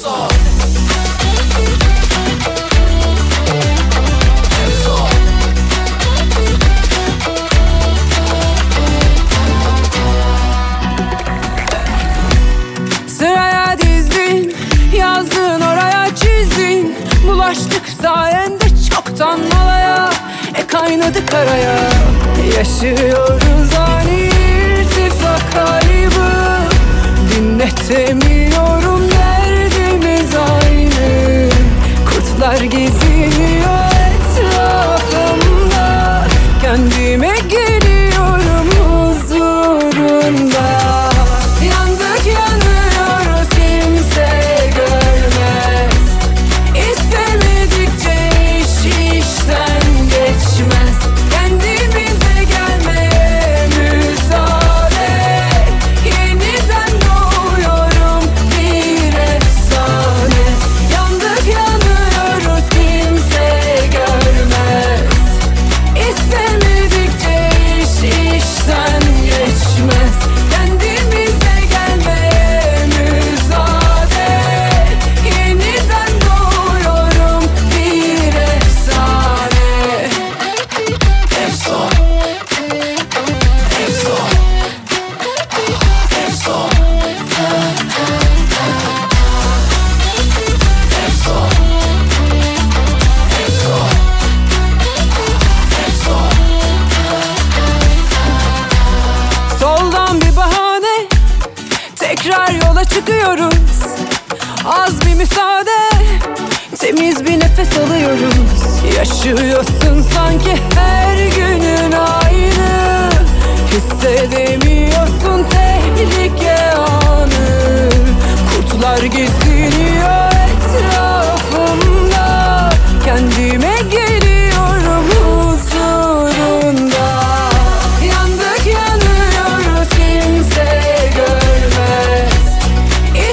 P: Sıraya dizdin, yazdın oraya çizdin. Bulaştık sayende çoktan malaya, kaynadı karaya. Yaşıyoruz ani irtifak kaybı. Dinletemiyorum, derdimiz aynı. Kurtlar geziniyor etrafımda. Kendime geliyorum huzurunda. Yandık yanıyoruz, kimse görmez. İstemedikçe iş işten geçmez. Kendimize gelmeye müsaade. Yeniden doğuyorum bir efsane. Yandık yanıyoruz, kimse görmez. İstemedikçe iş işten geçmez. Kendimize gelmeye müsaade. Yeniden doğuyorum bir efsane. Efson, efson, efson, soldan bir bahane, tekrar yola çıkıyoruz. Az bir müsaade, temiz bir nefes alıyoruz. Yaşıyorsun sanki her günün aynı. Hissedemiyorsun tehlike anı. Kurtlar geziniyor etrafımda. Kendime geliyorum huzurunda. Yandık yanıyoruz, kimse görmez.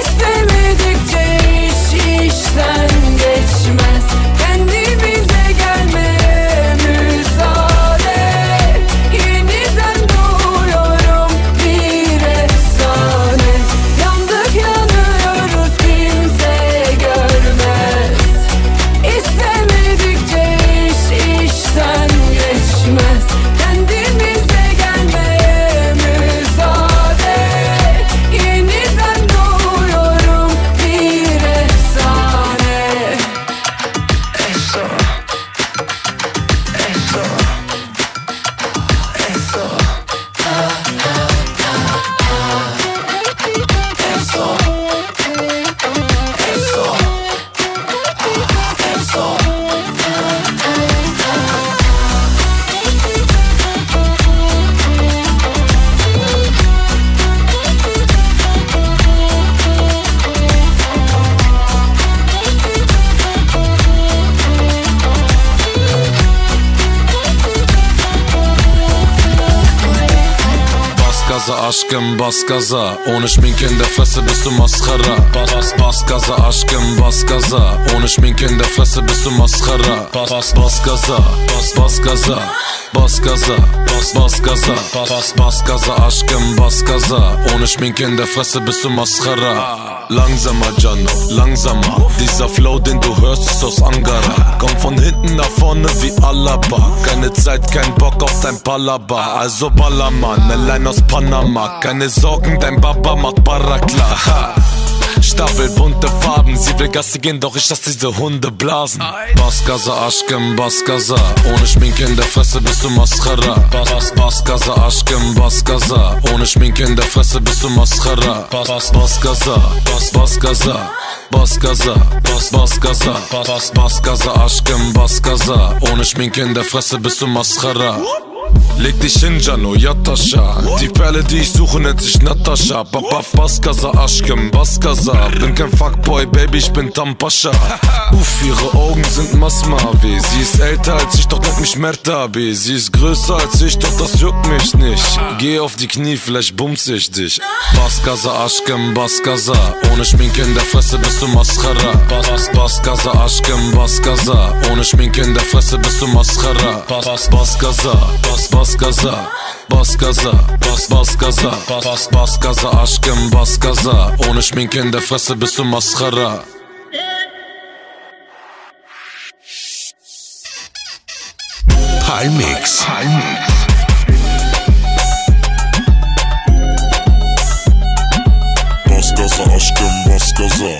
O: aşkım bas gaza. Ohne Schminke in der Fresse bist du Mascara. Bas gaza aşkım bas gaza. Ohne Schminke in der Fresse bist du Mascara. Bas gaza, bas gaza. Bas gaza, bas gaza. Bas gaza aşkım bas gaza. Ohne Schminke in der Fresse bist du Mascara. Langsamer Gianno, langsamer. Dieser Flow, den du hörst, ist aus Angara. Komm von hinten nach vorne wie Alaba. Keine Zeit, kein Bock auf dein Palaba. Also Ballermann, allein aus Panama. Keine Sorgen, dein Papa macht Barakla. Ha. Stapel bunte Farben, sie will Gasse gehen, doch ich lass diese Hunde blasen. Bas gaza aşkım bas gaza. Ohne Schminke in der Fresse bist du Mascara. Bas gaza aşkım bas gaza. Ohne Schminke in der Fresse bist du Mascara. Bas gaza, bas gaza. Bas gaza, bas gaza. Bas gaza aşkım bas gaza. Ohne Schminke in der Fresse bist du Mascara. Leg dich hin, Gianno, yat aşağı. Die Perle, die ich suche, nennt sich Natascha. Bas gaza aşkım, bas gaza. Bin kein Fuckboy, Baby, ich bin Tampascha. Uff, ihre Augen sind Masmavi. Sie ist älter als ich, doch nennt mich Mertabi. Sie ist größer als ich, doch das juckt mich nicht. Geh auf die Knie, vielleicht bumps ich dich. Bas gaza aşkım, bas gaza. Ohne Schminke in der Fresse bist du Mascara. Bas gaza aşkım, bas gaza. Ohne Schminke in der Fresse bist du Mascara. Bas gaza, bas gaza, bas gaza, bas gaza, bas gaza aşkım bas gaza. Ohne Schminke in der Fresse bist du Mascara.
A: Palmix.
Q: Bas gaza aşkım bas gaza.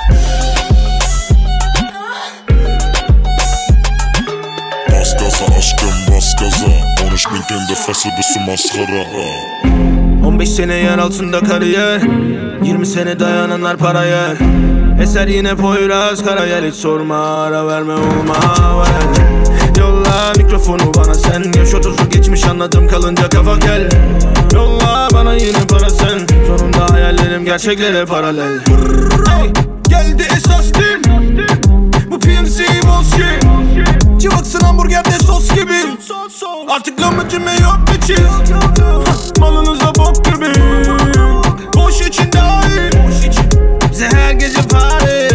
Q: Bas gaza aşkım bas gaza. Ohne Schminke in der Fresse bist du Mascara.
R: 15 sene yer altında kariyer, 20 sene dayananlar para yer. Eser yine Poyraz Karayel, hiç sorma ara verme olma ver. Yolla mikrofonu bana sen, yaş 30'u geçmiş anladım kalınca kafa kel. Yolla bana yine para sen, sonunda hayallerim gerçeklere paralel. Hey, geldi esas din, bu PMC bullshit. Civaksın hamburgerde sos gibi. Artık lahmacun yok bir çiz. Malınıza bok gibi. Boş için dahil. Bize her gece party.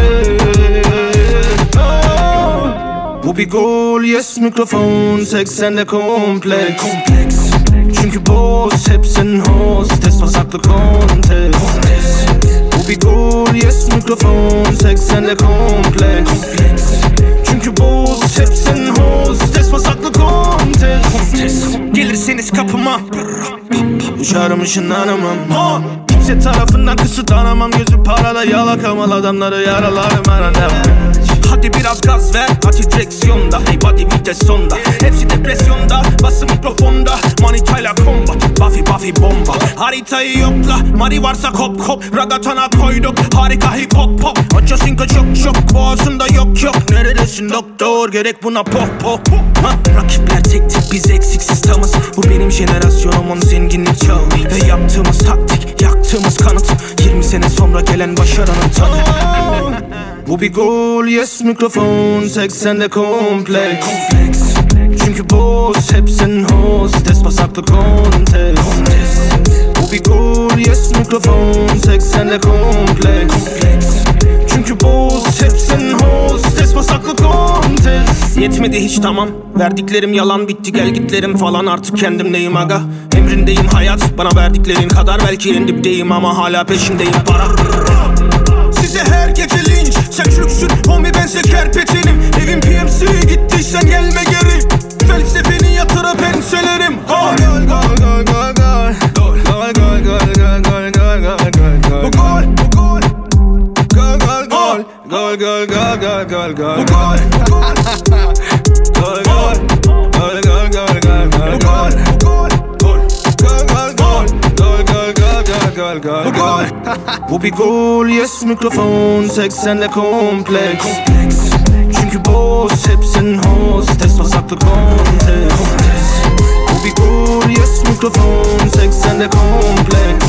R: Bu bir gol, yes mikrofon. 80'de kompleks. Çünkü boss hepsin hostes. Pasaklı kontes. Bu bir gol, yes mikrofon. 80'de kompleks. Çünkü boss hepsin hostes. Pasaklı kontes. Gelirseniz kapıma uçarım ışınlanamam. Kimse tarafından kısıtlanamam. Gözü parada yalakamal adamları yaralarım arada. Hadi biraz gaz ver, hadi direksiyonda. Hey body vites sonda. Hepsi depresyonda, bası mikrofonda. Manitayla combat, Buffy bomba. Haritayı yokla, Mari varsa kop kop. Ragatana koyduk, harika hip hop pop. Açasınka çok boğazında yok. Neredesin doktor, gerek buna pop. Rakipler tek tip, biz eksiksiz tamız. Bu benim jenerasyonumun zenginlik çağı. Ve yaptığımız taktik, yaktığımız kanıt. 20 sene sonra gelen başarının tadı. Bu bir gol, yes mikrofon. 80'de kompleks. Çünkü boss hepsin hostes. Pasaklı kontes. Bu bir gol, yes mikrofon. 80'de kompleks. Çünkü boss hepsin hostes. Pasaklı kontes. Yetmedi hiç tamam, verdiklerim yalan, bitti gel gitlerim falan. Artık kendimdeyim aga, emrindeyim hayat. Bana verdiklerin kadar belki en dipteyim ama hala peşindeyim para. Size her gece linç, sen çürüksün homie bense kerpetenim. Evim PMC gittiysen gelme geri. Felsefeni yatırıp enselerim. Gol gol gol gol gol gol. Gol gol gol gol gol gol gol gol gol. Bu gol, bu gol. Gol gol gol. Gol gol gol gol gol gol. Bu gol, bu gol. Gol gol. Gol gol gol gol gol gol. Bu gol. Gol gol gol. Gol gol gol gol gol gol. Bu bir gol, yes mikrofon. 80'de kompleks. Çünkü boss hepsin hostes. Pasaklı kontes. Bu bir gol, yes mikrofon. 80'de kompleks.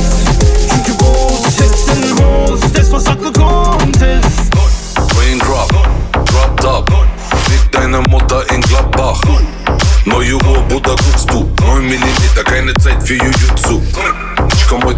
R: Çünkü boss hepsin hostes. Pasaklı kontes.
O: Raindrop, drop top. Fick deine Mutter in Gladbach. Neue Uhr, Bruder, guckst du. 9 mm, keine Zeit für Jujutsu.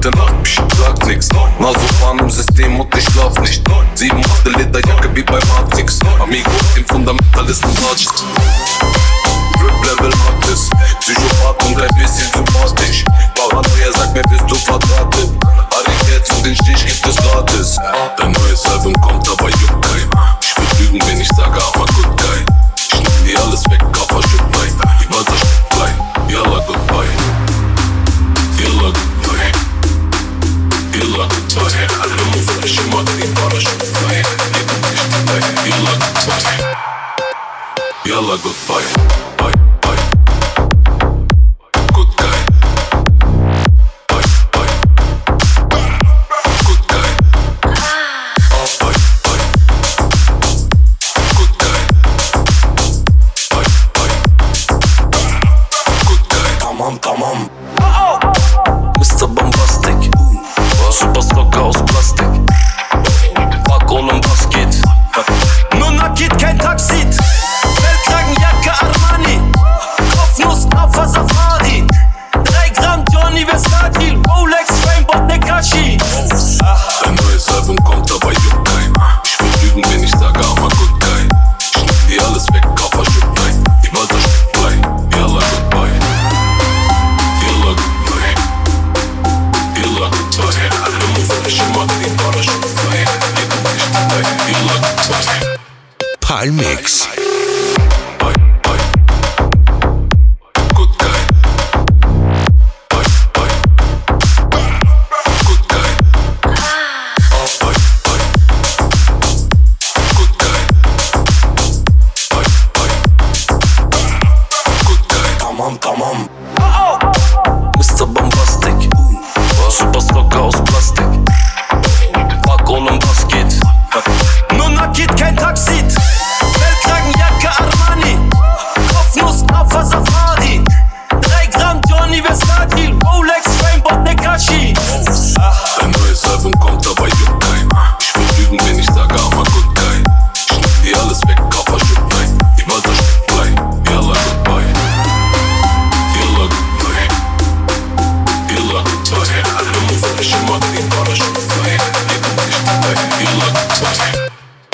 O: heute Nacht, ich sag nix. Na so fahren im System und ich schlaf nicht. 7 8 Lederjacke wie bei Matrix. Amigo, im Fundamentalisten Watch. Rip-Level Artist, Psychopath und ein bisschen sympathisch. Paranoia sagt mir, bist du verdrahtet. Harry und den Stich gibt es gratis. Dein neues Album kommt, aber juckt kein. Ich würd lügen, wenn ich sage, aber good guy. Ich nehm dir alles weg, Kaffer, shit, nein. Die Walter steht klein, yalla, goodbye. Yalla, goodbye. Yalla, goodbye. Alle Muffen, ich mag die Parachute frei. Yalla, goodbye. Yalla, goodbye. Bye, bye. Good guy. Bye, bye. Good guy. Bye, bye. Good guy. Bye, bye. Good guy.
R: Tamam.
O: Mr. Bombastic. Super Stocker aus Plastik. Fuck oğlum bas git.
R: Nur nakit, kein Taxit. Feldkragenjacke Armani. Kopfnuss, Alpha Safari. 3 Gramm Johnny Versace. Rolex, Rainbow, Tekashi.
O: Dein neues Album kommt, aber juckt kein. Ich würd lügen, wenn ich sage, aber good guy. Ich nehm dir alles weg, Kaffer, shit, nein. Die Walter steht klein. Yalla, goodbye. Yalla, goodbye. Yalla, goodbye. Alle Muffen, ich mag die Parachute frei. Yalla, goodbye.
A: Palmix.
O: Bye, bye. Good guy. Bye, bye. Good guy. Bye, bye. Good guy. Bye, bye. Good guy.
R: Tamam.
O: Mr. Bombastic. Super Stocker aus Plastik. Fuck oğlum bas git.
R: Nur nakit, kein Taxit. Feldkragenjacke Armani. Kopfnuss, Alpha Safari. 3 Gramm Johnny Versace. Rolex, Rainbow, Tekashi.
O: Dein neues Album kommt, aber juckt kein. Ich würd lügen, wenn ich sage, aber good guy. Ich nehm dir alles weg, Kaffer, shit, nein. Die Walter steht klein. Yalla, goodbye. Yalla, goodbye. Yalla, goodbye. Alle Muffen, ich mag die Parachute frei. Yalla, goodbye.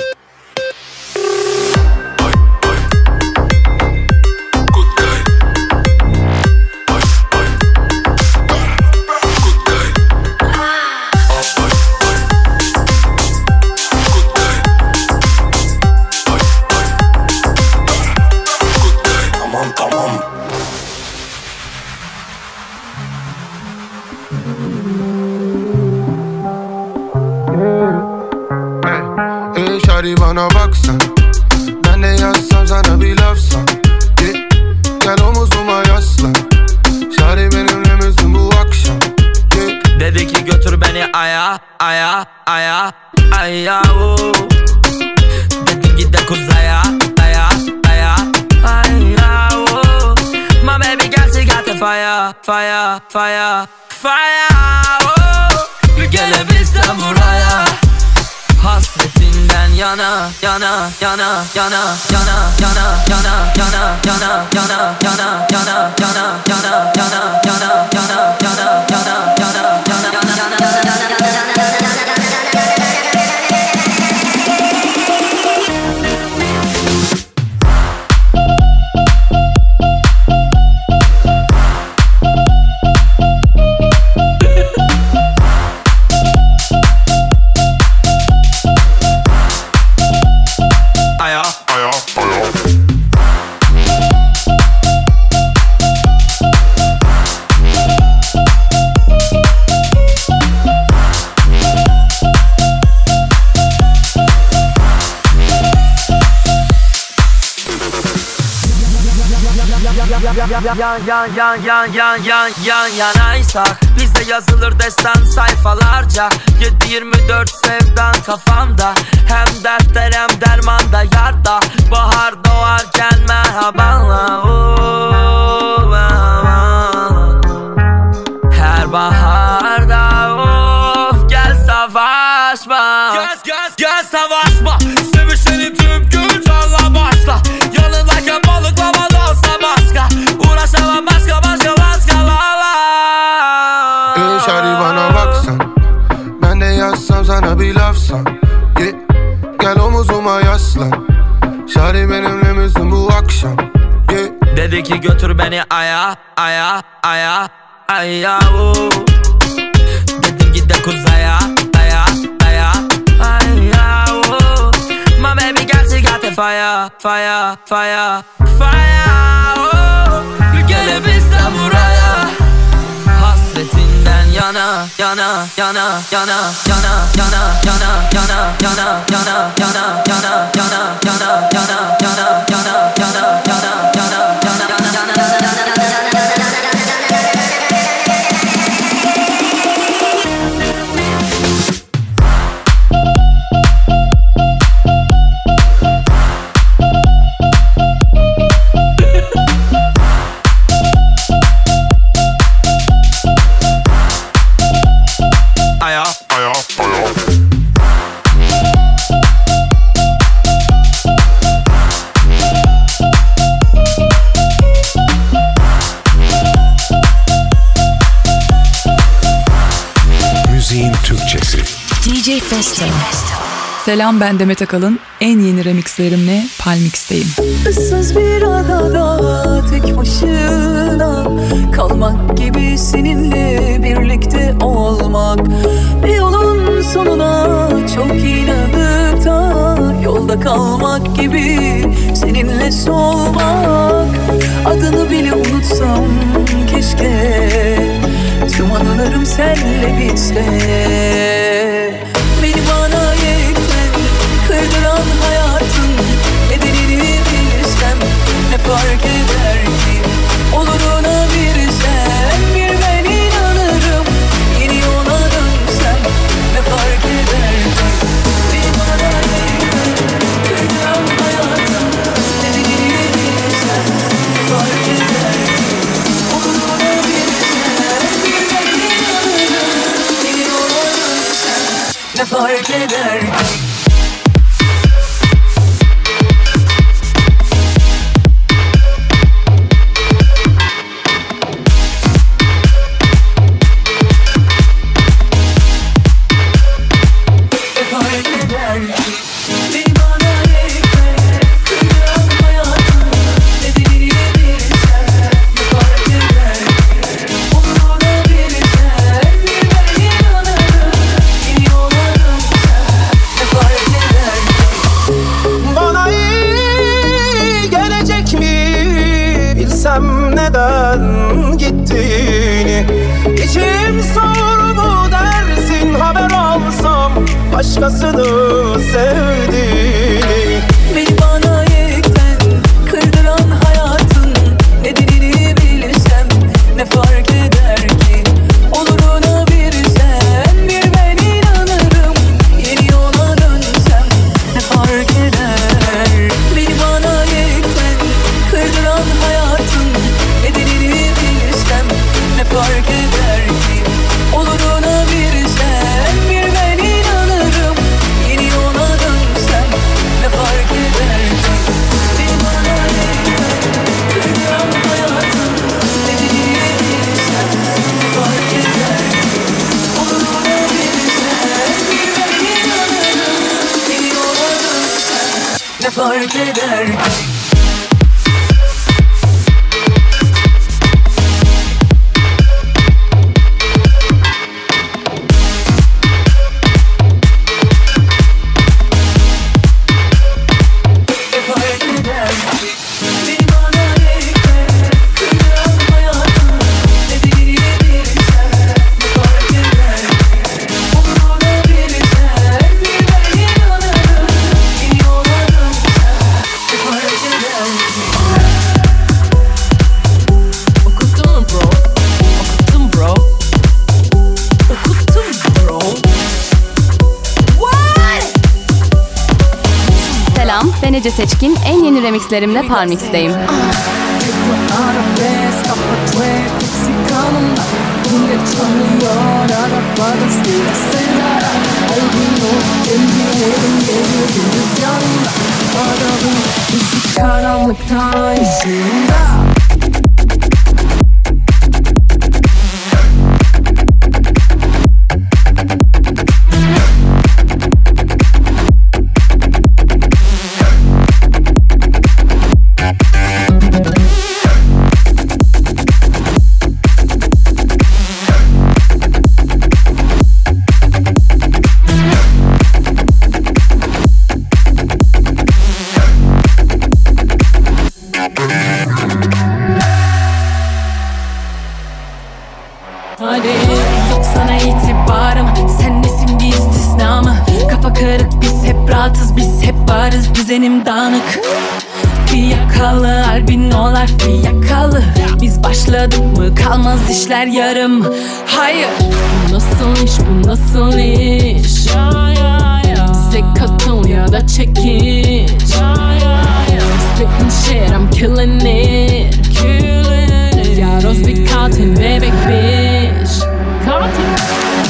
O: Bye, bye. Good guy. Bye, bye. Good guy. Bye, bye. Good guy. Bye, bye. Good guy.
R: Tamam.
S: Hey shawty bana baksan, ben de yazsam sana bir laf san. Gel omuzuma yaslan, shawty benimle misin bu akşam?
F: Dedi ki götür beni aya oh. Dedim git de kuzaya aya oh. My baby girl she got the fire oh. Gelebilsem buraya hasretinden yana yanaysak bizde yazılır destan sayfalarca 7-24 sevdan kafamda Hem dertler hem dermanda yarda Bahar doğarken merhabanla Her baharda gel savaşma Gel savaşma Sevişelim tüm gün canla başla Yanındayken balıklamadansa başka Uğraşamam başka la la
S: Shawty bana bak yazsam sana bir lafsan, yeah. Gel omuzuma yaslan. Şari benimle misin bu akşam, yeah.
F: Dedi ki götür beni aya, aya, aya, aya, oh. Dedim git de kuzaya, aya, aya, aya, oh. My baby got the fire, fire, fire, fire, oh. Gelebilse buraya, hasretinden yana, yana, yana, yana, yana, yana, yana, yana, yana, yana, yana, yana, yana, yana, yana, yana, yana, yana,
T: DJ Festo. Selam, ben Demet Akalın. En yeni remixlerimle Palmix'teyim.
U: Issız bir adada tek başına kalmak gibi, seninle birlikte olmak. Bir yolun sonuna çok inanıp da yolda kalmak gibi, seninle solmak. Adını bile unutsam keşke, tüm anılarım senle bitse. Beni bana yekten kırdıran hayatın nedenini bilsem, ne fark eder ki? Oluruna bir sen, bir ben inanırım. Yeni yola dönsem, ne fark eder ki? Beni bana yekten kırdıran hayatın nedenini bilsem, ne fark eder ki? Oluruna bir sen, bir ben inanırım. Yeni yola dönsem, ne fark eder ki?
R: Neden gittiğini İçim soğur mu dersin, haber alsam başkasını sevdiğini.
U: Beni bana yekten kırdıran hayatın nedenini bilsem, ne fark eder ki? Oluruna bir sen, bir ben inanırım. Yeni yola dönsem, ne fark eder? Beni bana yekten kırdıran hayatın nedenini bilsem, ne fark eder ki? Oluruna bir sen, bir ben inanırım. Yeni yola dönsem, ne fark eder ki? Beni bana yekten kırdıran hayatın nedenini bilsem, ne fark eder ki? Oluruna bir sen, bir ben inanırım. Yeni yola dönsem, ne fark eder ki?
K: Ben Ece Seçkin, en yeni remixlerimle Palmix'teyim.
J: Karanlıkta ışığında
U: düzenim dağınık. Fiyakalı albinolar fiyakalı. Biz başladık mı kalmaz işler yarım. Hayır, bu nasıl iş, bu nasıl iş? Bize katıl ya da çekiş. Spitting shit, I'm killing it. Yaros bir katil bebek bitch. Katil.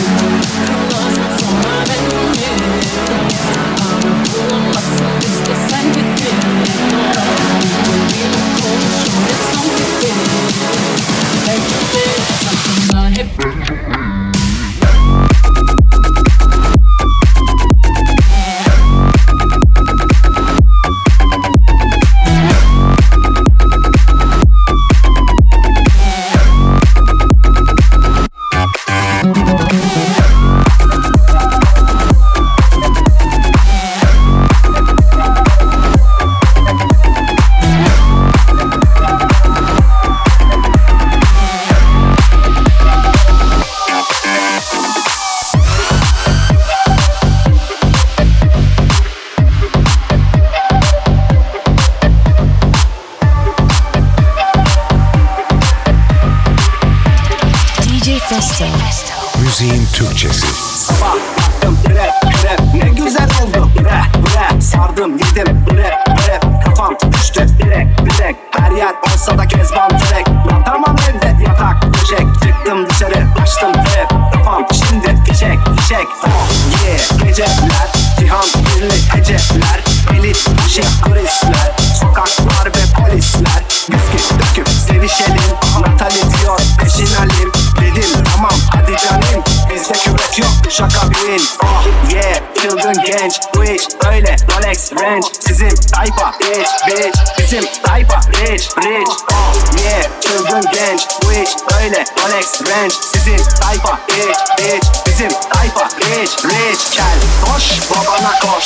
A: Müziğin Türkçesi.
C: Sabah baktım rap ne güzel oldu rap sardım yedim rap kafam düştü direkt her yer olsa da kezban direkt yatamam evde yatak döşek çıktım dışarı açtım rap kafam şimdi fişek oh yeah geceler cihan birli heceler elit aşık turistler sokaklar ve polisler viski döküp sevişelim Natali diyor peşin alim dedim tamam hadi canım bizde küvet yok şaka bin oh yeah çılgın genç bu iş öyle Rolex Range sizin tayfa bitch bizim tayfa rich oh yeah çılgın genç bu iş öyle Rolex Range sizin tayfa bitch bizim tayfa rich gel koş babana koş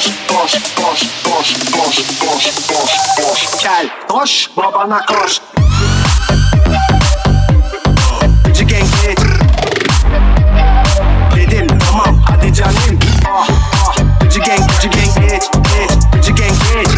C: gel koş babana koş Gıcı gang bitch dedim tamam hadi canım oh Gıcı gang bitch Gıcı gang bitch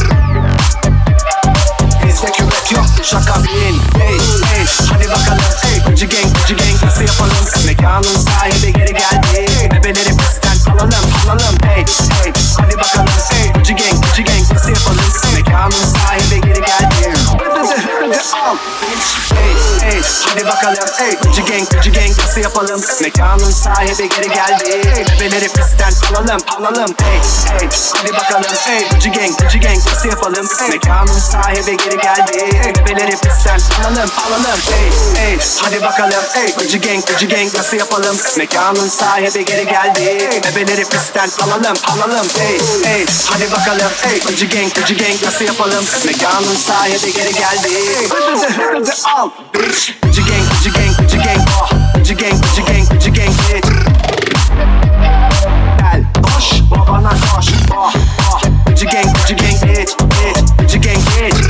C: bizde küvet yok şaka bin hey hadi bakalım Gıcı gang nasıl yapalım mekanın sahibi geri geldi bebeleri pistten alalım hey hadi bakalım Gıcı gang nasıl yapalım mekanın sahibi geri geldi al hey hadi bakalım Gıcı gang nasıl yapalım mekanın sahibi geri geldi bebeleri pistten alalım hey hadi bakalım Gıcı gang nasıl yapalım mekanın sahibi geri geldi bebeleri pistten alalım hey hadi bakalım Gıcı gang nasıl yapalım mekanın sahibi geri geldi bebeleri pistten alalım hey hadi bakalım Gıcı gang nasıl yapalım mekanın sahibi geri geldi al bitch Gıcı gang oh Gıcı gang bitch gel koş babana koş oh Gıcı gang bitch Gıcı gang bitch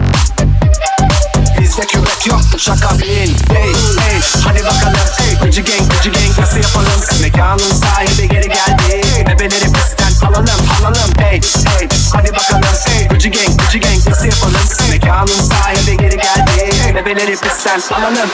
C: bizde küvet yok şaka bin hey hadi bakalım Gıcı gang nasıl yapalım mekanın sahibi geri geldi bebeleri pistten alalım hey hadi bakalım Gıcı gang nasıl yapalım mekanın sahibi geri geldi bebeleri pistten alalım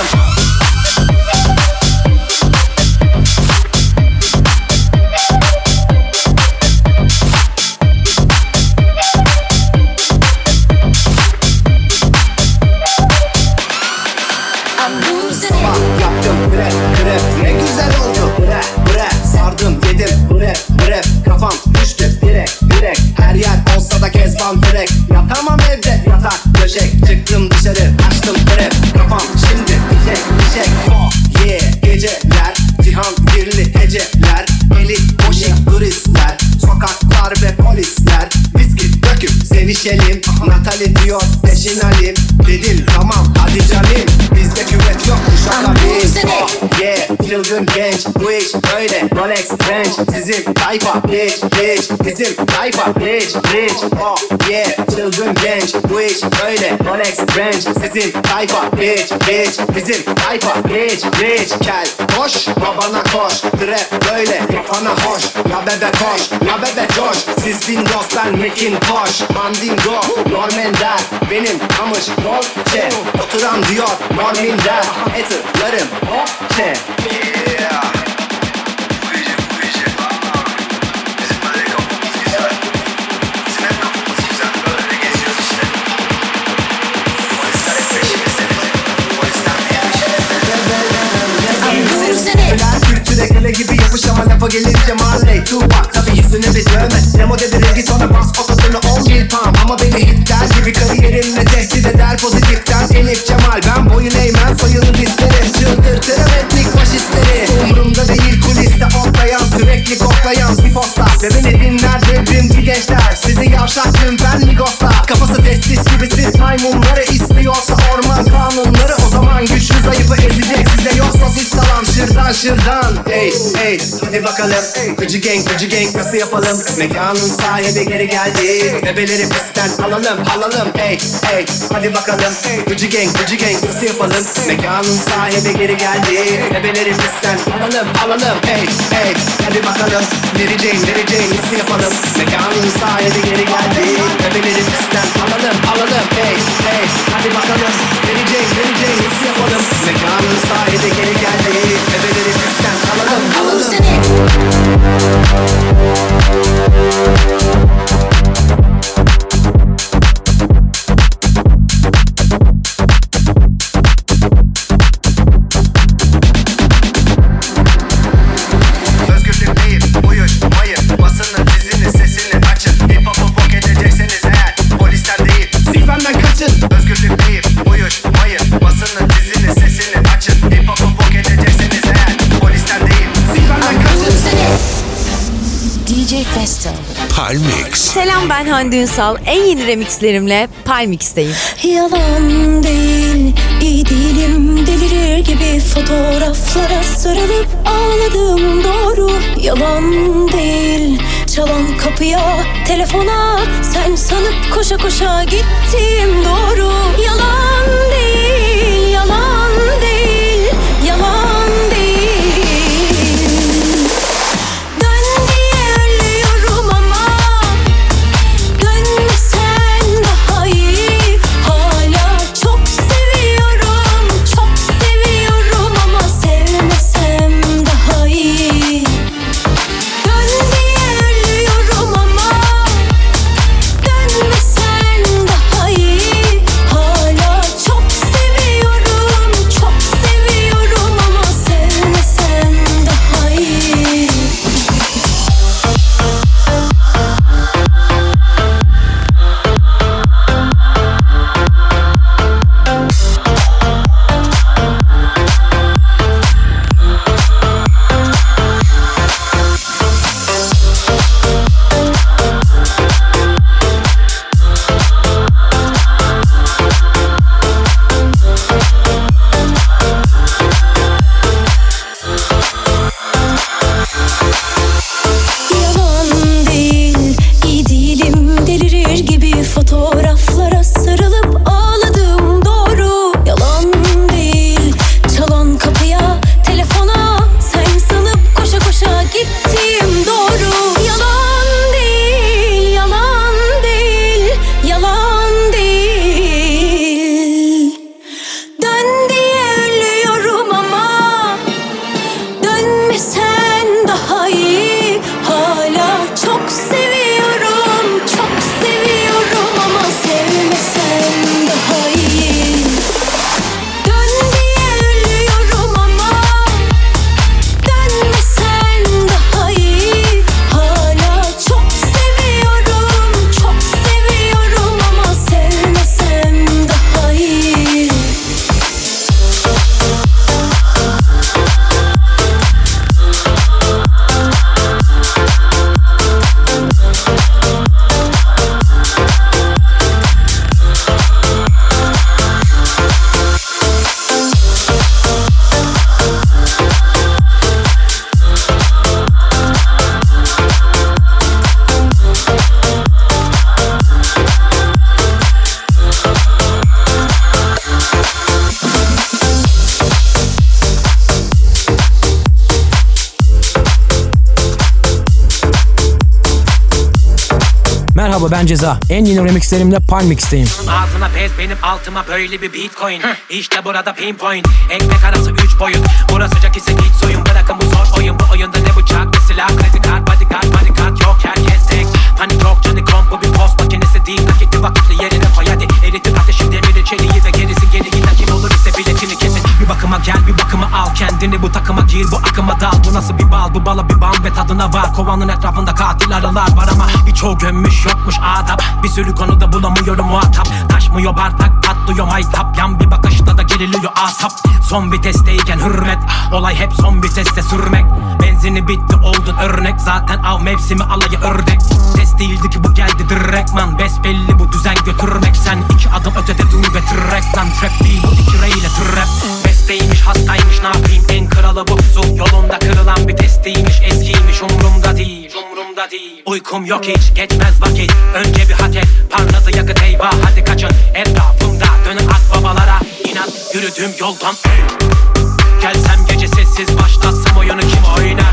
C: sabah yaptım rap ne güzel oldu rap sardım yedim rap kafam düştü direkt her yer olsa da kezban direkt yatamam evde yatak döşek çıktım dışarı açtım rap kafam şimdi fişek oh yeah geceler cihan birli heceler elit boşik turistler sokaklar ve polisler viski dök döküp sevişelim. Natalie diyor peşin alayım. Dedim tamam hadi canım. Bizde küvet yok kuşakla biz. Oh yeah çılgın genç. Bu iş böyle Rolex Range. Sizin tayfa rich rich. Bizim tayfa rich rich. Oh yeah çılgın genç. Bu iş böyle Rolex Range. Sizin tayfa rich rich. Bizim tayfa rich rich. Kel koş babana koş. Trap böyle yapana hoş. Ya bebe koş ya bebe coş. Siz Windows ben Macintosh. Mandingo Normender. Benim kamış Dolce. Oturan diyor Norminder. Etırlarım Dolce. Yeah. Kale gibi yapış ama lafa gelince Marley Tupac tabi yüzüne bir dövme Nemo dedi rengi sonra bas ototunu 11 pound Ama beni hitler gibi kariyerimle tehdit eder pozitiften Elif Cemal ben boyun eğmem soyunu dizleri Çıldırtırım etnik faşistleri Umurumda değil kuliste otlayan sürekli koklayan sifoslar Ve beni dinler devrimci gençler Sizi yavşaklım ben Migoslar Kafası testis gibi siz maymunları istiyorsa orman kanunları O zaman güçlü zayıfı ezecek size yoksa siz salam şırdan şırdan Hey hey hadi bakalım Gıcı gang nasıl yapalım Mekanın sahibi geri geldi Bebeleri pistten alalım hey hey hadi bakalım Gıcı gang nasıl yapalım Mekanın sahibi geri geldi Bebeleri pistten alalım hey hey hadi bakalım Mary Jane nasıl yapalım Mekanın sahibi geri geldi Bebeleri pistten alalım hey hey hadi bakalım Mary Jane nasıl yapalım Mekanın sahibi geri geldi Bebeleri pistten alalım Özgürlük değil, uyuşmayın Basının dizini, sesini açın Hip hop'u bok edecekseniz eğer Polisten değil, sikmemden kaçın Özgürlük değil, uyuşmayın Basının dizini, sesini açın Hip hop'u bok edecekseniz eğer Polisten değil, sikmemden kaçın
B: DJ Festo
A: Palmix.
B: Selam ben Hande Ünsal. En yeni remixlerimle Palmix'teyim.
U: Yalan değil, iyi değilim. Delirir gibi fotoğraflara sarılıp ağladım doğru. Yalan değil, çalan kapıya, telefona sen sanıp koşa koşa gittim doğru. Yalan değil, yalan değil, yalan değil. Hala
L: Merhaba ben Ceza. En yeni remixlerimle Palmix'teyim.
E: Ağzına pez benim altıma böyle bir bitcoin. İşte burada pinpoint. Ekmek arası 3 boyut. Burası sıcak ise git soyun. Bırakın bu zor oyun. Bu oyunda ne bıçak ne silah. Kredi kart bodyguard yok herkes tek. Panik yok canı komp bu bir post makinesi değil. Nakitli vakitli yerine koy hadi. Eritir ateşi demiri çeliği ve gerisi geri giden kim olur ise biletini kesin. Bir bakıma gel bir bakıma al kendini bu takıma gir bu akıma dal. Bu nasıl bir bal bu bala bir bam ve tadına var. Kovanın etrafında katil arılar var ama birçoğu gömmüş yokmuş adap. Bir sürü konuda bulamıyorum muhatap. Taşmıyor bardak patlıyor maytap. Yan bir bakışta da geriliyor asap. Son vitesteyken hürmet. Olay hep son viteste sürmek. Benzini bitti oldun örnek. Zaten av mevsimi alayı ördek. Test değildi ki bu geldi direktman. Besbelli bu düzen götürmek. Sen 2 adım ötede dur ve trek lan. Trap değil bu 2 reyle trap. Besteymiş hastaymış ne yapayım en kralı bu. Su yolunda kırılan bir testiymiş. Eskiymiş umrumda değil. Uykum yok hiç geçmez vakit. Önce bir hak et parladı yakıt eyvah hadi kaçın. Etrafımda dönün akbabalara. İnat yürüdüğüm yoldan gelsem gece sessiz başlatsam oyunu kim oynar?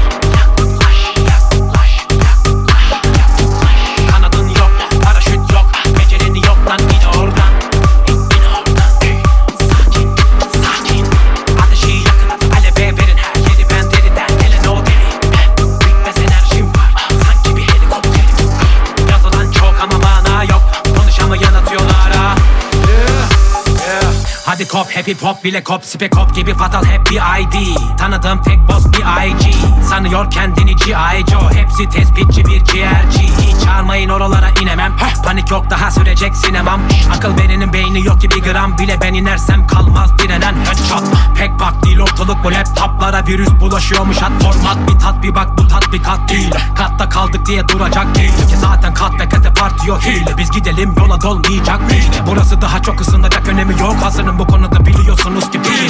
E: Kanadın yok paraşüt yok becerini yok lan in oradan. Sakin ateşi yakın at aleve verin her yeri ben deriden gelen o deli. Bitmez enerjim var sanki bir helikopterim. Yazılan çok ama mana yok konuşamayan atıyorlar ha. Hadi kop happy pop bile kop spek kop gibi fatal hep bir ID. Tanıdığım tek boss bir IG. Sanıyor kendini G.I. Joe. Hepsi tespitçi bir ciğerci. Hiç çağırmayın oralara inemem. Panik yok daha sürecek sinemam. Akıl verinin beyni yok ki bir gram bile ben inersem kalmaz direnen headshot. Pek bak değil ortalık bu laptoplara virüs bulaşıyormuş at format. Bir tat bir bak bu tatbikat değil. Katta kaldık diye duracak değil ki zaten kat ve kate partiyor hile. Biz gidelim yola dolmayacak değil. Burası daha çok ısınacak önemi yok. Hazırım bu konuda biliyorsunuz ki bir.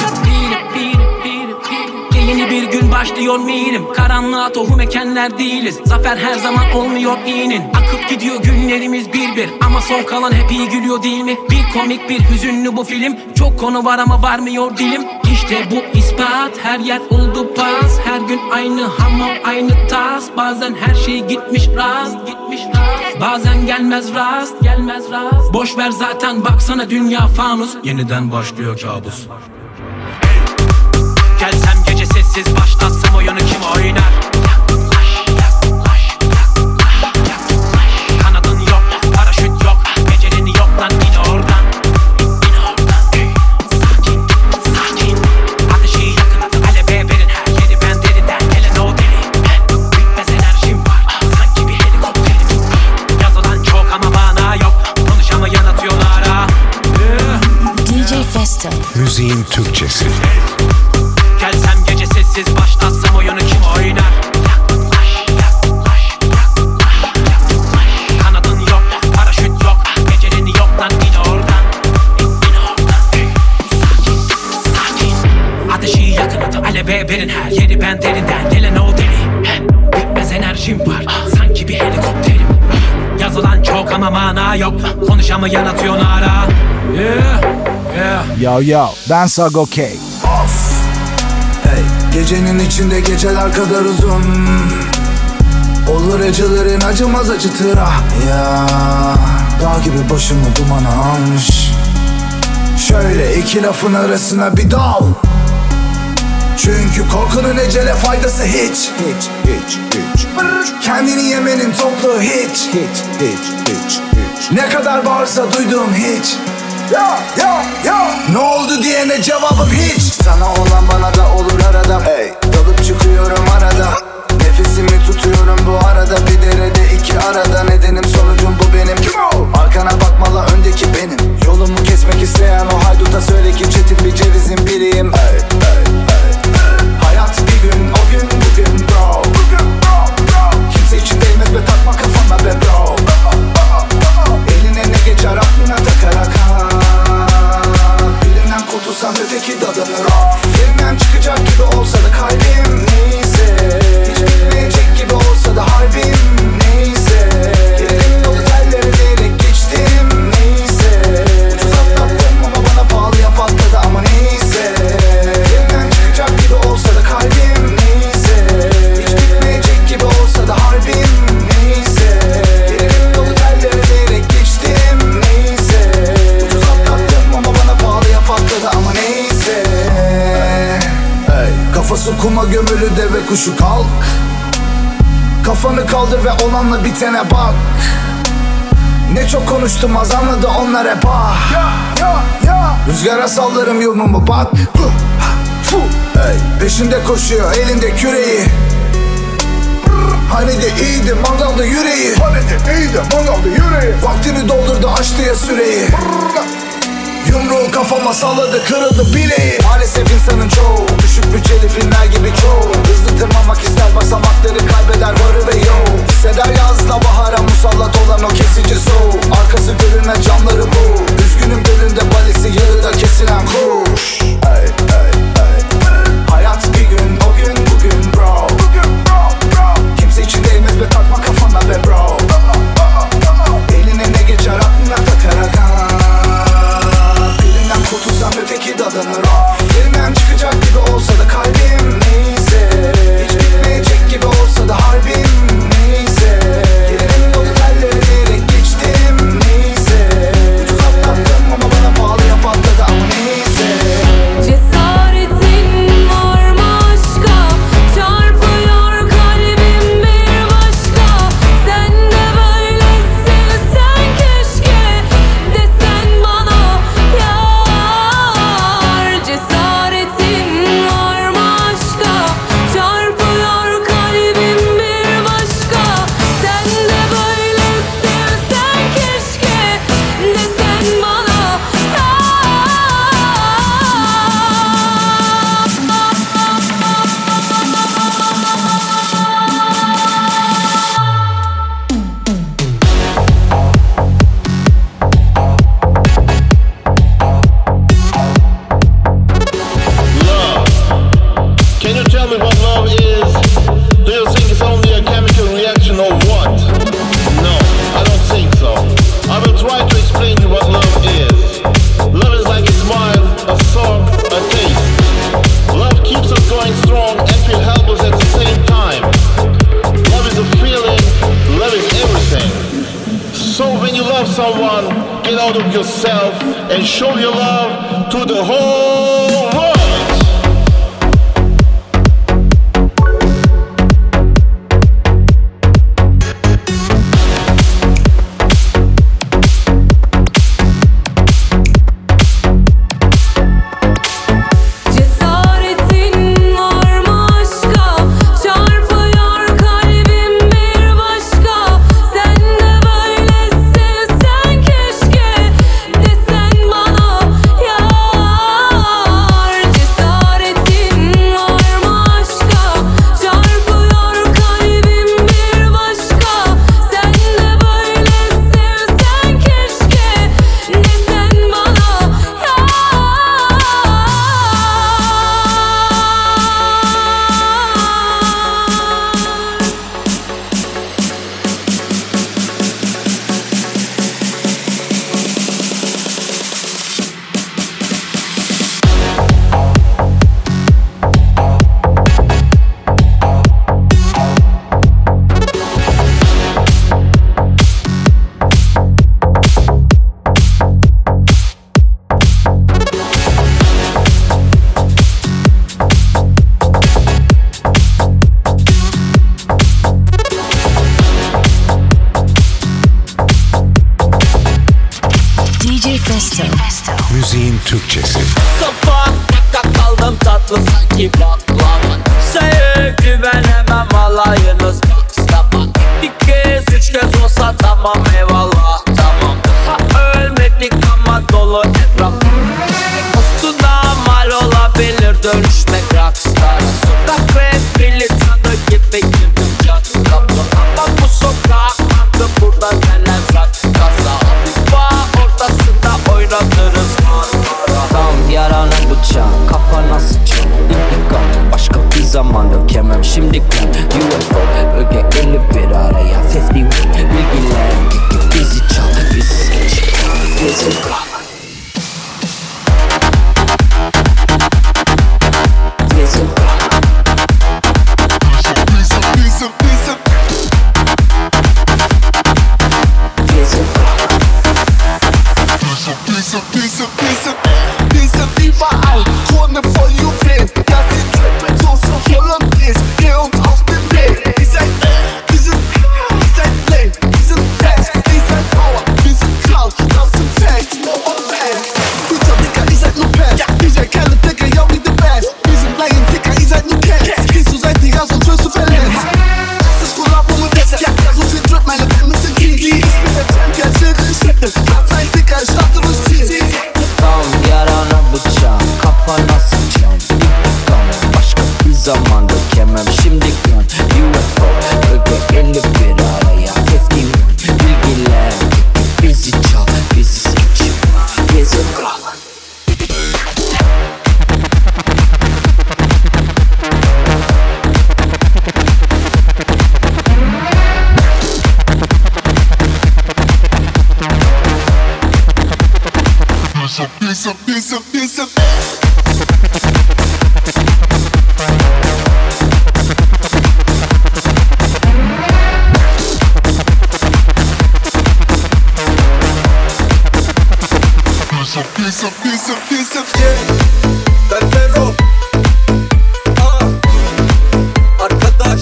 E: Yeni bir gün başlıyor mirim. Karanlığa tohum ekenler değiliz. Zafer her zaman olmuyor iyinin. Akıp gidiyor günlerimiz bir ama son kalan hep iyi gülüyor değil mi? Bir komik bir hüzünlü bu film. Çok konu var ama varmıyor dilim. İşte bu ispat her yer oldu pas. Her gün aynı hamam aynı tas. Bazen her şey gitmiş rast. Bazen gelmez rast. Boş ver zaten baksana dünya fanus. Yeniden başlıyor kabus. Gelsem gece sessiz başlatsam oyunu kim oynar? Kanadın yok, paraşüt yok, becerini yok lan in oradan. Sakin ateşi yakın at aleve verin her yeri ben deriden gelen o deli. Bitmez enerjim var sanki bir helikopterim. Yazılan çok ama mana yok konuşamayan atıyorlar ha.
B: DJ Festo.
A: Müziğin Türkçesi.
E: Gelsem gece sessiz başlatsam oyunu kim oynar? Kanadın yok, paraşüt yok, becerini yok lan in oradan. Sakin ateşi yakın at aleve verin her yeri ben derinden gelen o deli. Bitmez enerjim var sanki bir helikopterim. Yazılan çok ama mana yok konuşamayan atıyorlar ha.
C: Yo ben Sago K. Hey, gecenin içinde geceler kadar uzun. Olur acıların acımaz acıtır ah ya. Dağ gibi başımı dumana almış. Şöyle iki lafın arasına bir dal. Çünkü korkunun ecele faydası hiç. Kendini yemenin toplu hiç. Ne kadar bağırsa duyduğum hiç. Ne oldu diyene cevabım hiç. Sana olan bana da olur arada. Hey, dalıp çıkıyorum arada. Nefesimi tutuyorum bu arada. Bir derede iki arada. Nedenim sonucum bu benim. Arkana bakmalı öndeki benim. Yolumu kesmek isteyen o hayduta söyle ki çetin bir cevizin biriyim. Hey. Hayat bir gün o gün bugün bro. Kimse için değmez be takma kafana be bro. Eline ne geçer aklına takarak ha. Birinden kurtulsam öteki dadanır off. Yerimden çıkacak gibi olsa da kalbim neyse. Hiç bitmeyecek gibi olsa da kuma gömülü deve kuşu kalk. Kafanı kaldır ve olanla bitene bak. Ne çok konuştum az anladı onlar hep ah. Rüzgara sallarım yolumumu bak. Peşinde koşuyor elinde küreği. Hani de iyiydi mangalda yüreği. Vaktini doldurdu açtı ya süreyi. Yumruğu kafama salladı kırıldı bileği. Maalesef insanın çoğu düşük bütçeli filmler gibi çoğu. Hızlı tırmanmak ister basamakları kaybeder varı ve yoğu. Hisseder yazla bahara musallat olan o kesici soğuk. Arkası görünmez camları bu. Üzgünüm gölünde balesi yarıda kesilen kuş. Hayat bir gün o gün bugün bro. Kimse için değmez be takma kafana be bro. Eline ne geçer aklına takarak kurtulsam öteki dadanır of. Yerimden çıkacak gibi olsa da kalbim neyse. Hiç bitmeyecek gibi olsa da harbim neyse. Gelirim yolu telleri diyerek geçtim neyse. Ucuz atlattım ama bana pahalıya patladı ama neyse.
H: Cesaretin var mı aşka? Çarpıyor kalbim bir başka. Sen de böylesin sen keşke desen bana ya. Cesaretin var mı aşka? Çarpıyor kalbim bir başka. Sen de böylesin sen keşke desen bana
Q: Can you tell me what love is? Do you think it's only a chemical reaction or what? No, I don't think so. I will try to explain you what love is. Love is like a smile, a song, a taste. Love keeps us going strong and feel helpless at the same time. Love is a feeling, love is everything. So when you love someone, get out of yourself and show your love to the whole world.
H: Cesaretin var mı aşka? Çarpıyor kalbim bir başka. Sen de böylesin sen keşke desen bana yar. Cesaretin var mı aşka? Çarpıyor kalbim bir başka. Sen de böylesin sen keşke desen bana yar.
B: DJ Festo.
A: Müziğin Türkçesi.
F: Sokakta kaldım tatlı sanki baklava. Kimseye güvenemem alayınız baksaman. Bir kez üç kez olsa tamam eyvallah tamam. Ha ölmedik ama dolu etraf. Postuna mal olabilir dönüşmek rockstar. Sokak rapili tadı gibi girdim cadı kapı. Ama bu sokak adı burada neler zaten kaza. Hafif ortasında oynatırız manzara.
G: Tam yarana bıçak kafana sıçın. İntikam Ben Fero. Arkadaş.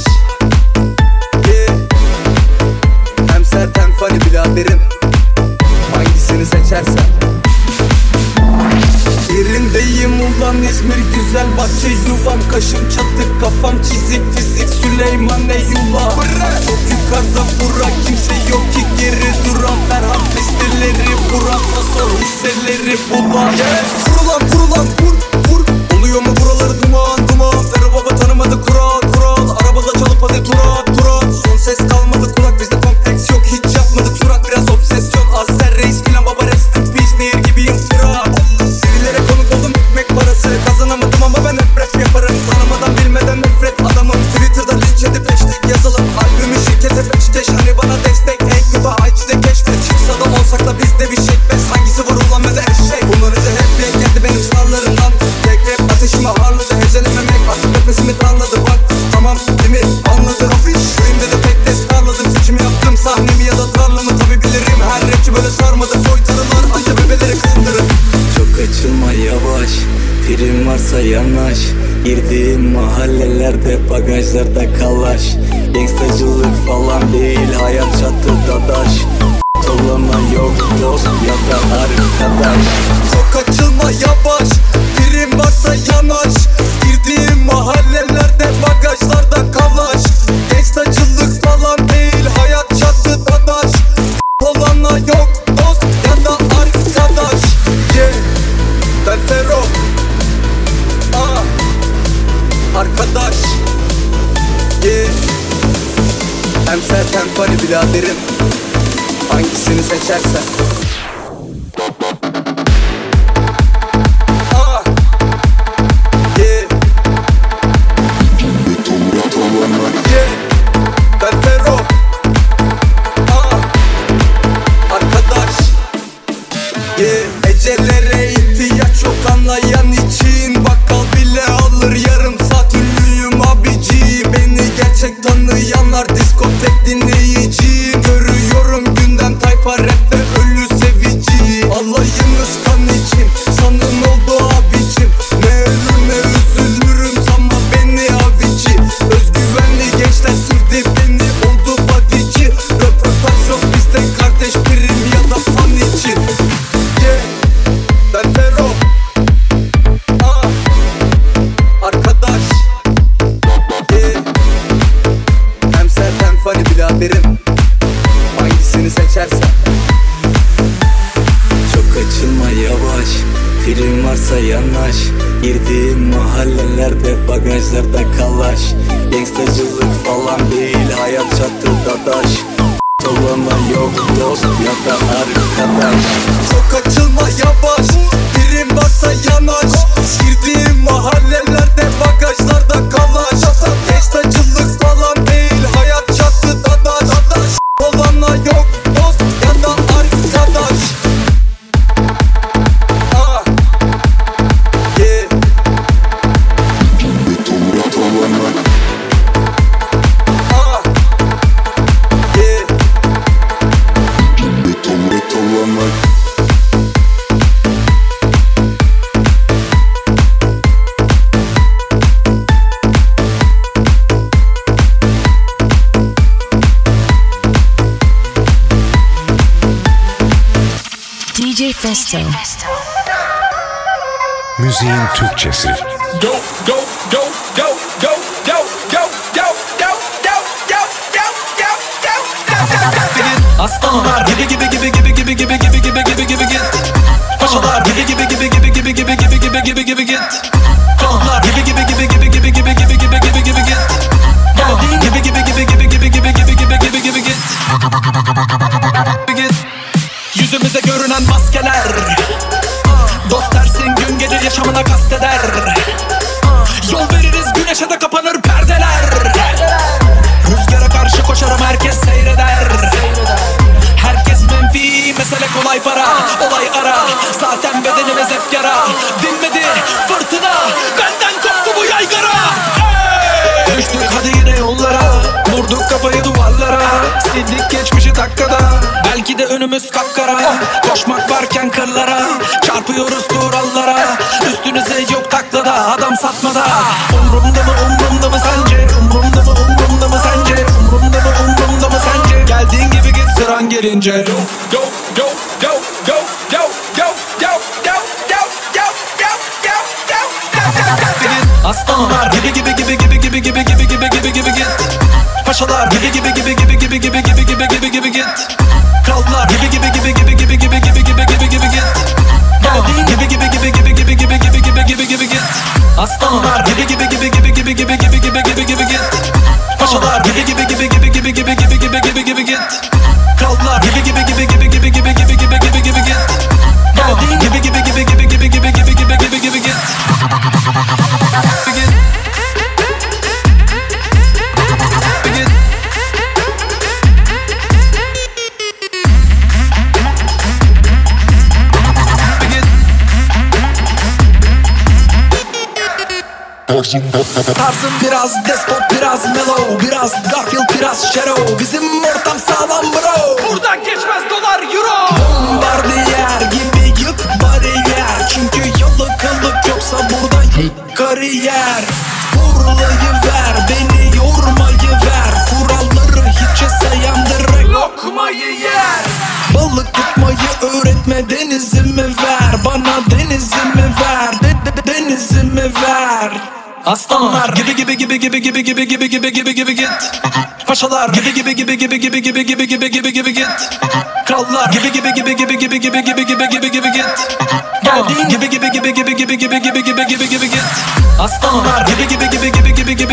G: Hem sert hem funny biraderim. Hangisini seçersen. Yerindeyim ulan İzmir güzel bahçe yuvam. Kaşım çatık kafam çizik fizik Süleyman Eyüla. Çok yukarıda bura kimse yok ki geri duran. Ferhat listeleri Burak'la sor hisseleri bulan. Vurulan vur. Oluyor mu buraları duman Fero baba tanımadı kural. Arabada çalıp hadi turat. Son ses kalmadı kulak bizde kompleks yok. Hiç yapmadık surat biraz obsesyon. Azer reis filan baba rest in peace. Nehir gibiyim sıra. Sivilere konuk oldum ekmek parası. Kazanamadım ama ben hep rap yaparım. Tanımadan bilmeden nefret adamım. Twitter'da linç edip hashtag yazalım. Albümü şirkete peşteş hani bana destek. Ey kıba IG'de keşfet. Çıksa da olsak da bizde bir şekbez. Hangisi var ulan ve de eşek. Bunları da hep denk geldi benim sınavlarımdan. Tek rap ateşime harladı. Hecelememek atıp nefesimi darladı. Bak tamam değil mi anladı. Köyümde de pek test darladım. Seçimi yaptım sahnemi ya da tarlamı tabi bilirim. Her rapçi böyle sarmadı. Soytarılar anca bebeleri kandırır. Çok açılma yavaş. Prim varsa yanaş. Girdiğim mahallelerde bagajlarda kalaş. Gangstacılık falan değil hayat çatıda daş. Olana yok dost ya da arkadaş. Çok açılma yavaş. Prim varsa yanaş. Girdiğim mahallelerde bagajlarda kalaş. Gangstacılık falan değil hayat çatıda daş. Olana yok dost ya da arkadaş. Ben Fero. Arkadaş. Hem sert hem funny biraderim. Hangisini seçersen. Ben Fero. Arkadaş. Ecelere ihtiyaç yok anlayan için. Bakkal bile alır yarım saat ünlüyüm abici. Beni gerçek tanıyanlar diskotek dinleyiciyim. Görüyorum gündem tayfa rapte ölü sevici. Alayınız kan için sanın oldu abicim. Ne ölür ne üzülürüm sanma beni avici. Özgüvenli gençler sildi beni oldu badici. Röportaj yok bizde kardeş prim ya da fan için. Ben Fero. Arkadaş. Hem sert hem funny biraderim. Hangisini seçersen. Çok açılma yavaş. Prim varsa yanaş. Girdiğim mahallelerde bagajlarda kalaş. Gangstacılık falan değil hayat çatıda daş. Olana yok dost ya da arkadaş. Çok açılma yavaş. Prim varsa yanaş. Girdiğim mahallelerde bagajlarda kalaş. Gangstacılık falan değil hayat çatıda daş. Olana yok dost ya da arkadaş.
B: DJ Festo.
A: Müziğin Türkçesi.
V: Go go go go go go go go go go go go go. Aslanlar gibi git. Paşalar gibi git. Kanlar gibi git. Geldiğin gibi git. Yüzümüze görünen maskeler. Dost dersin gün gelir yaşamına kasteder. Yol veririz güneşe de kapanır perdeler. Rüzgara karşı koşarım herkes seyreder. Herkes menfi mesele kolay para. Olay ara zaten bedenimiz hep önümüz kapkara. Koşmak varken kırlara, çarpıyoruz kurallara. Üstünüze yok taklada, adam satmada. Umrumda mı sence? Umrumda mı sence? Umrumda mı sence? Geldiğin gibi git sıran gelince. Go go go go go go go go go go go go go. Aslanlar gibi git. Paşalar gibi git. Krallar gibi git. Geldiğin gibi git. Aslanlar gibi git. Paşalar gibi git. Krallar gibi git. Geldiğin gibi git. Tarzım biraz despot, biraz mellow, biraz Garfield, biraz Shadow. Bizim ortam sağlam bro. Buradan geçmez dolar euro. Bombardiyer gibi yık bariyer. Çünkü yalakalık yoksa burada kariyer. Fırlayıver, beni yormayı ver. Kuralları hiçe sayan direkt lokmayı yer. Balık tutmayı öğretme, denizimi ver. Bana denizimi ver, denizimi ver. Aslanlar gibi git. Paşalar gibi git. Krallar gibi git. Geldiğin gibi git. Aslanlar gibi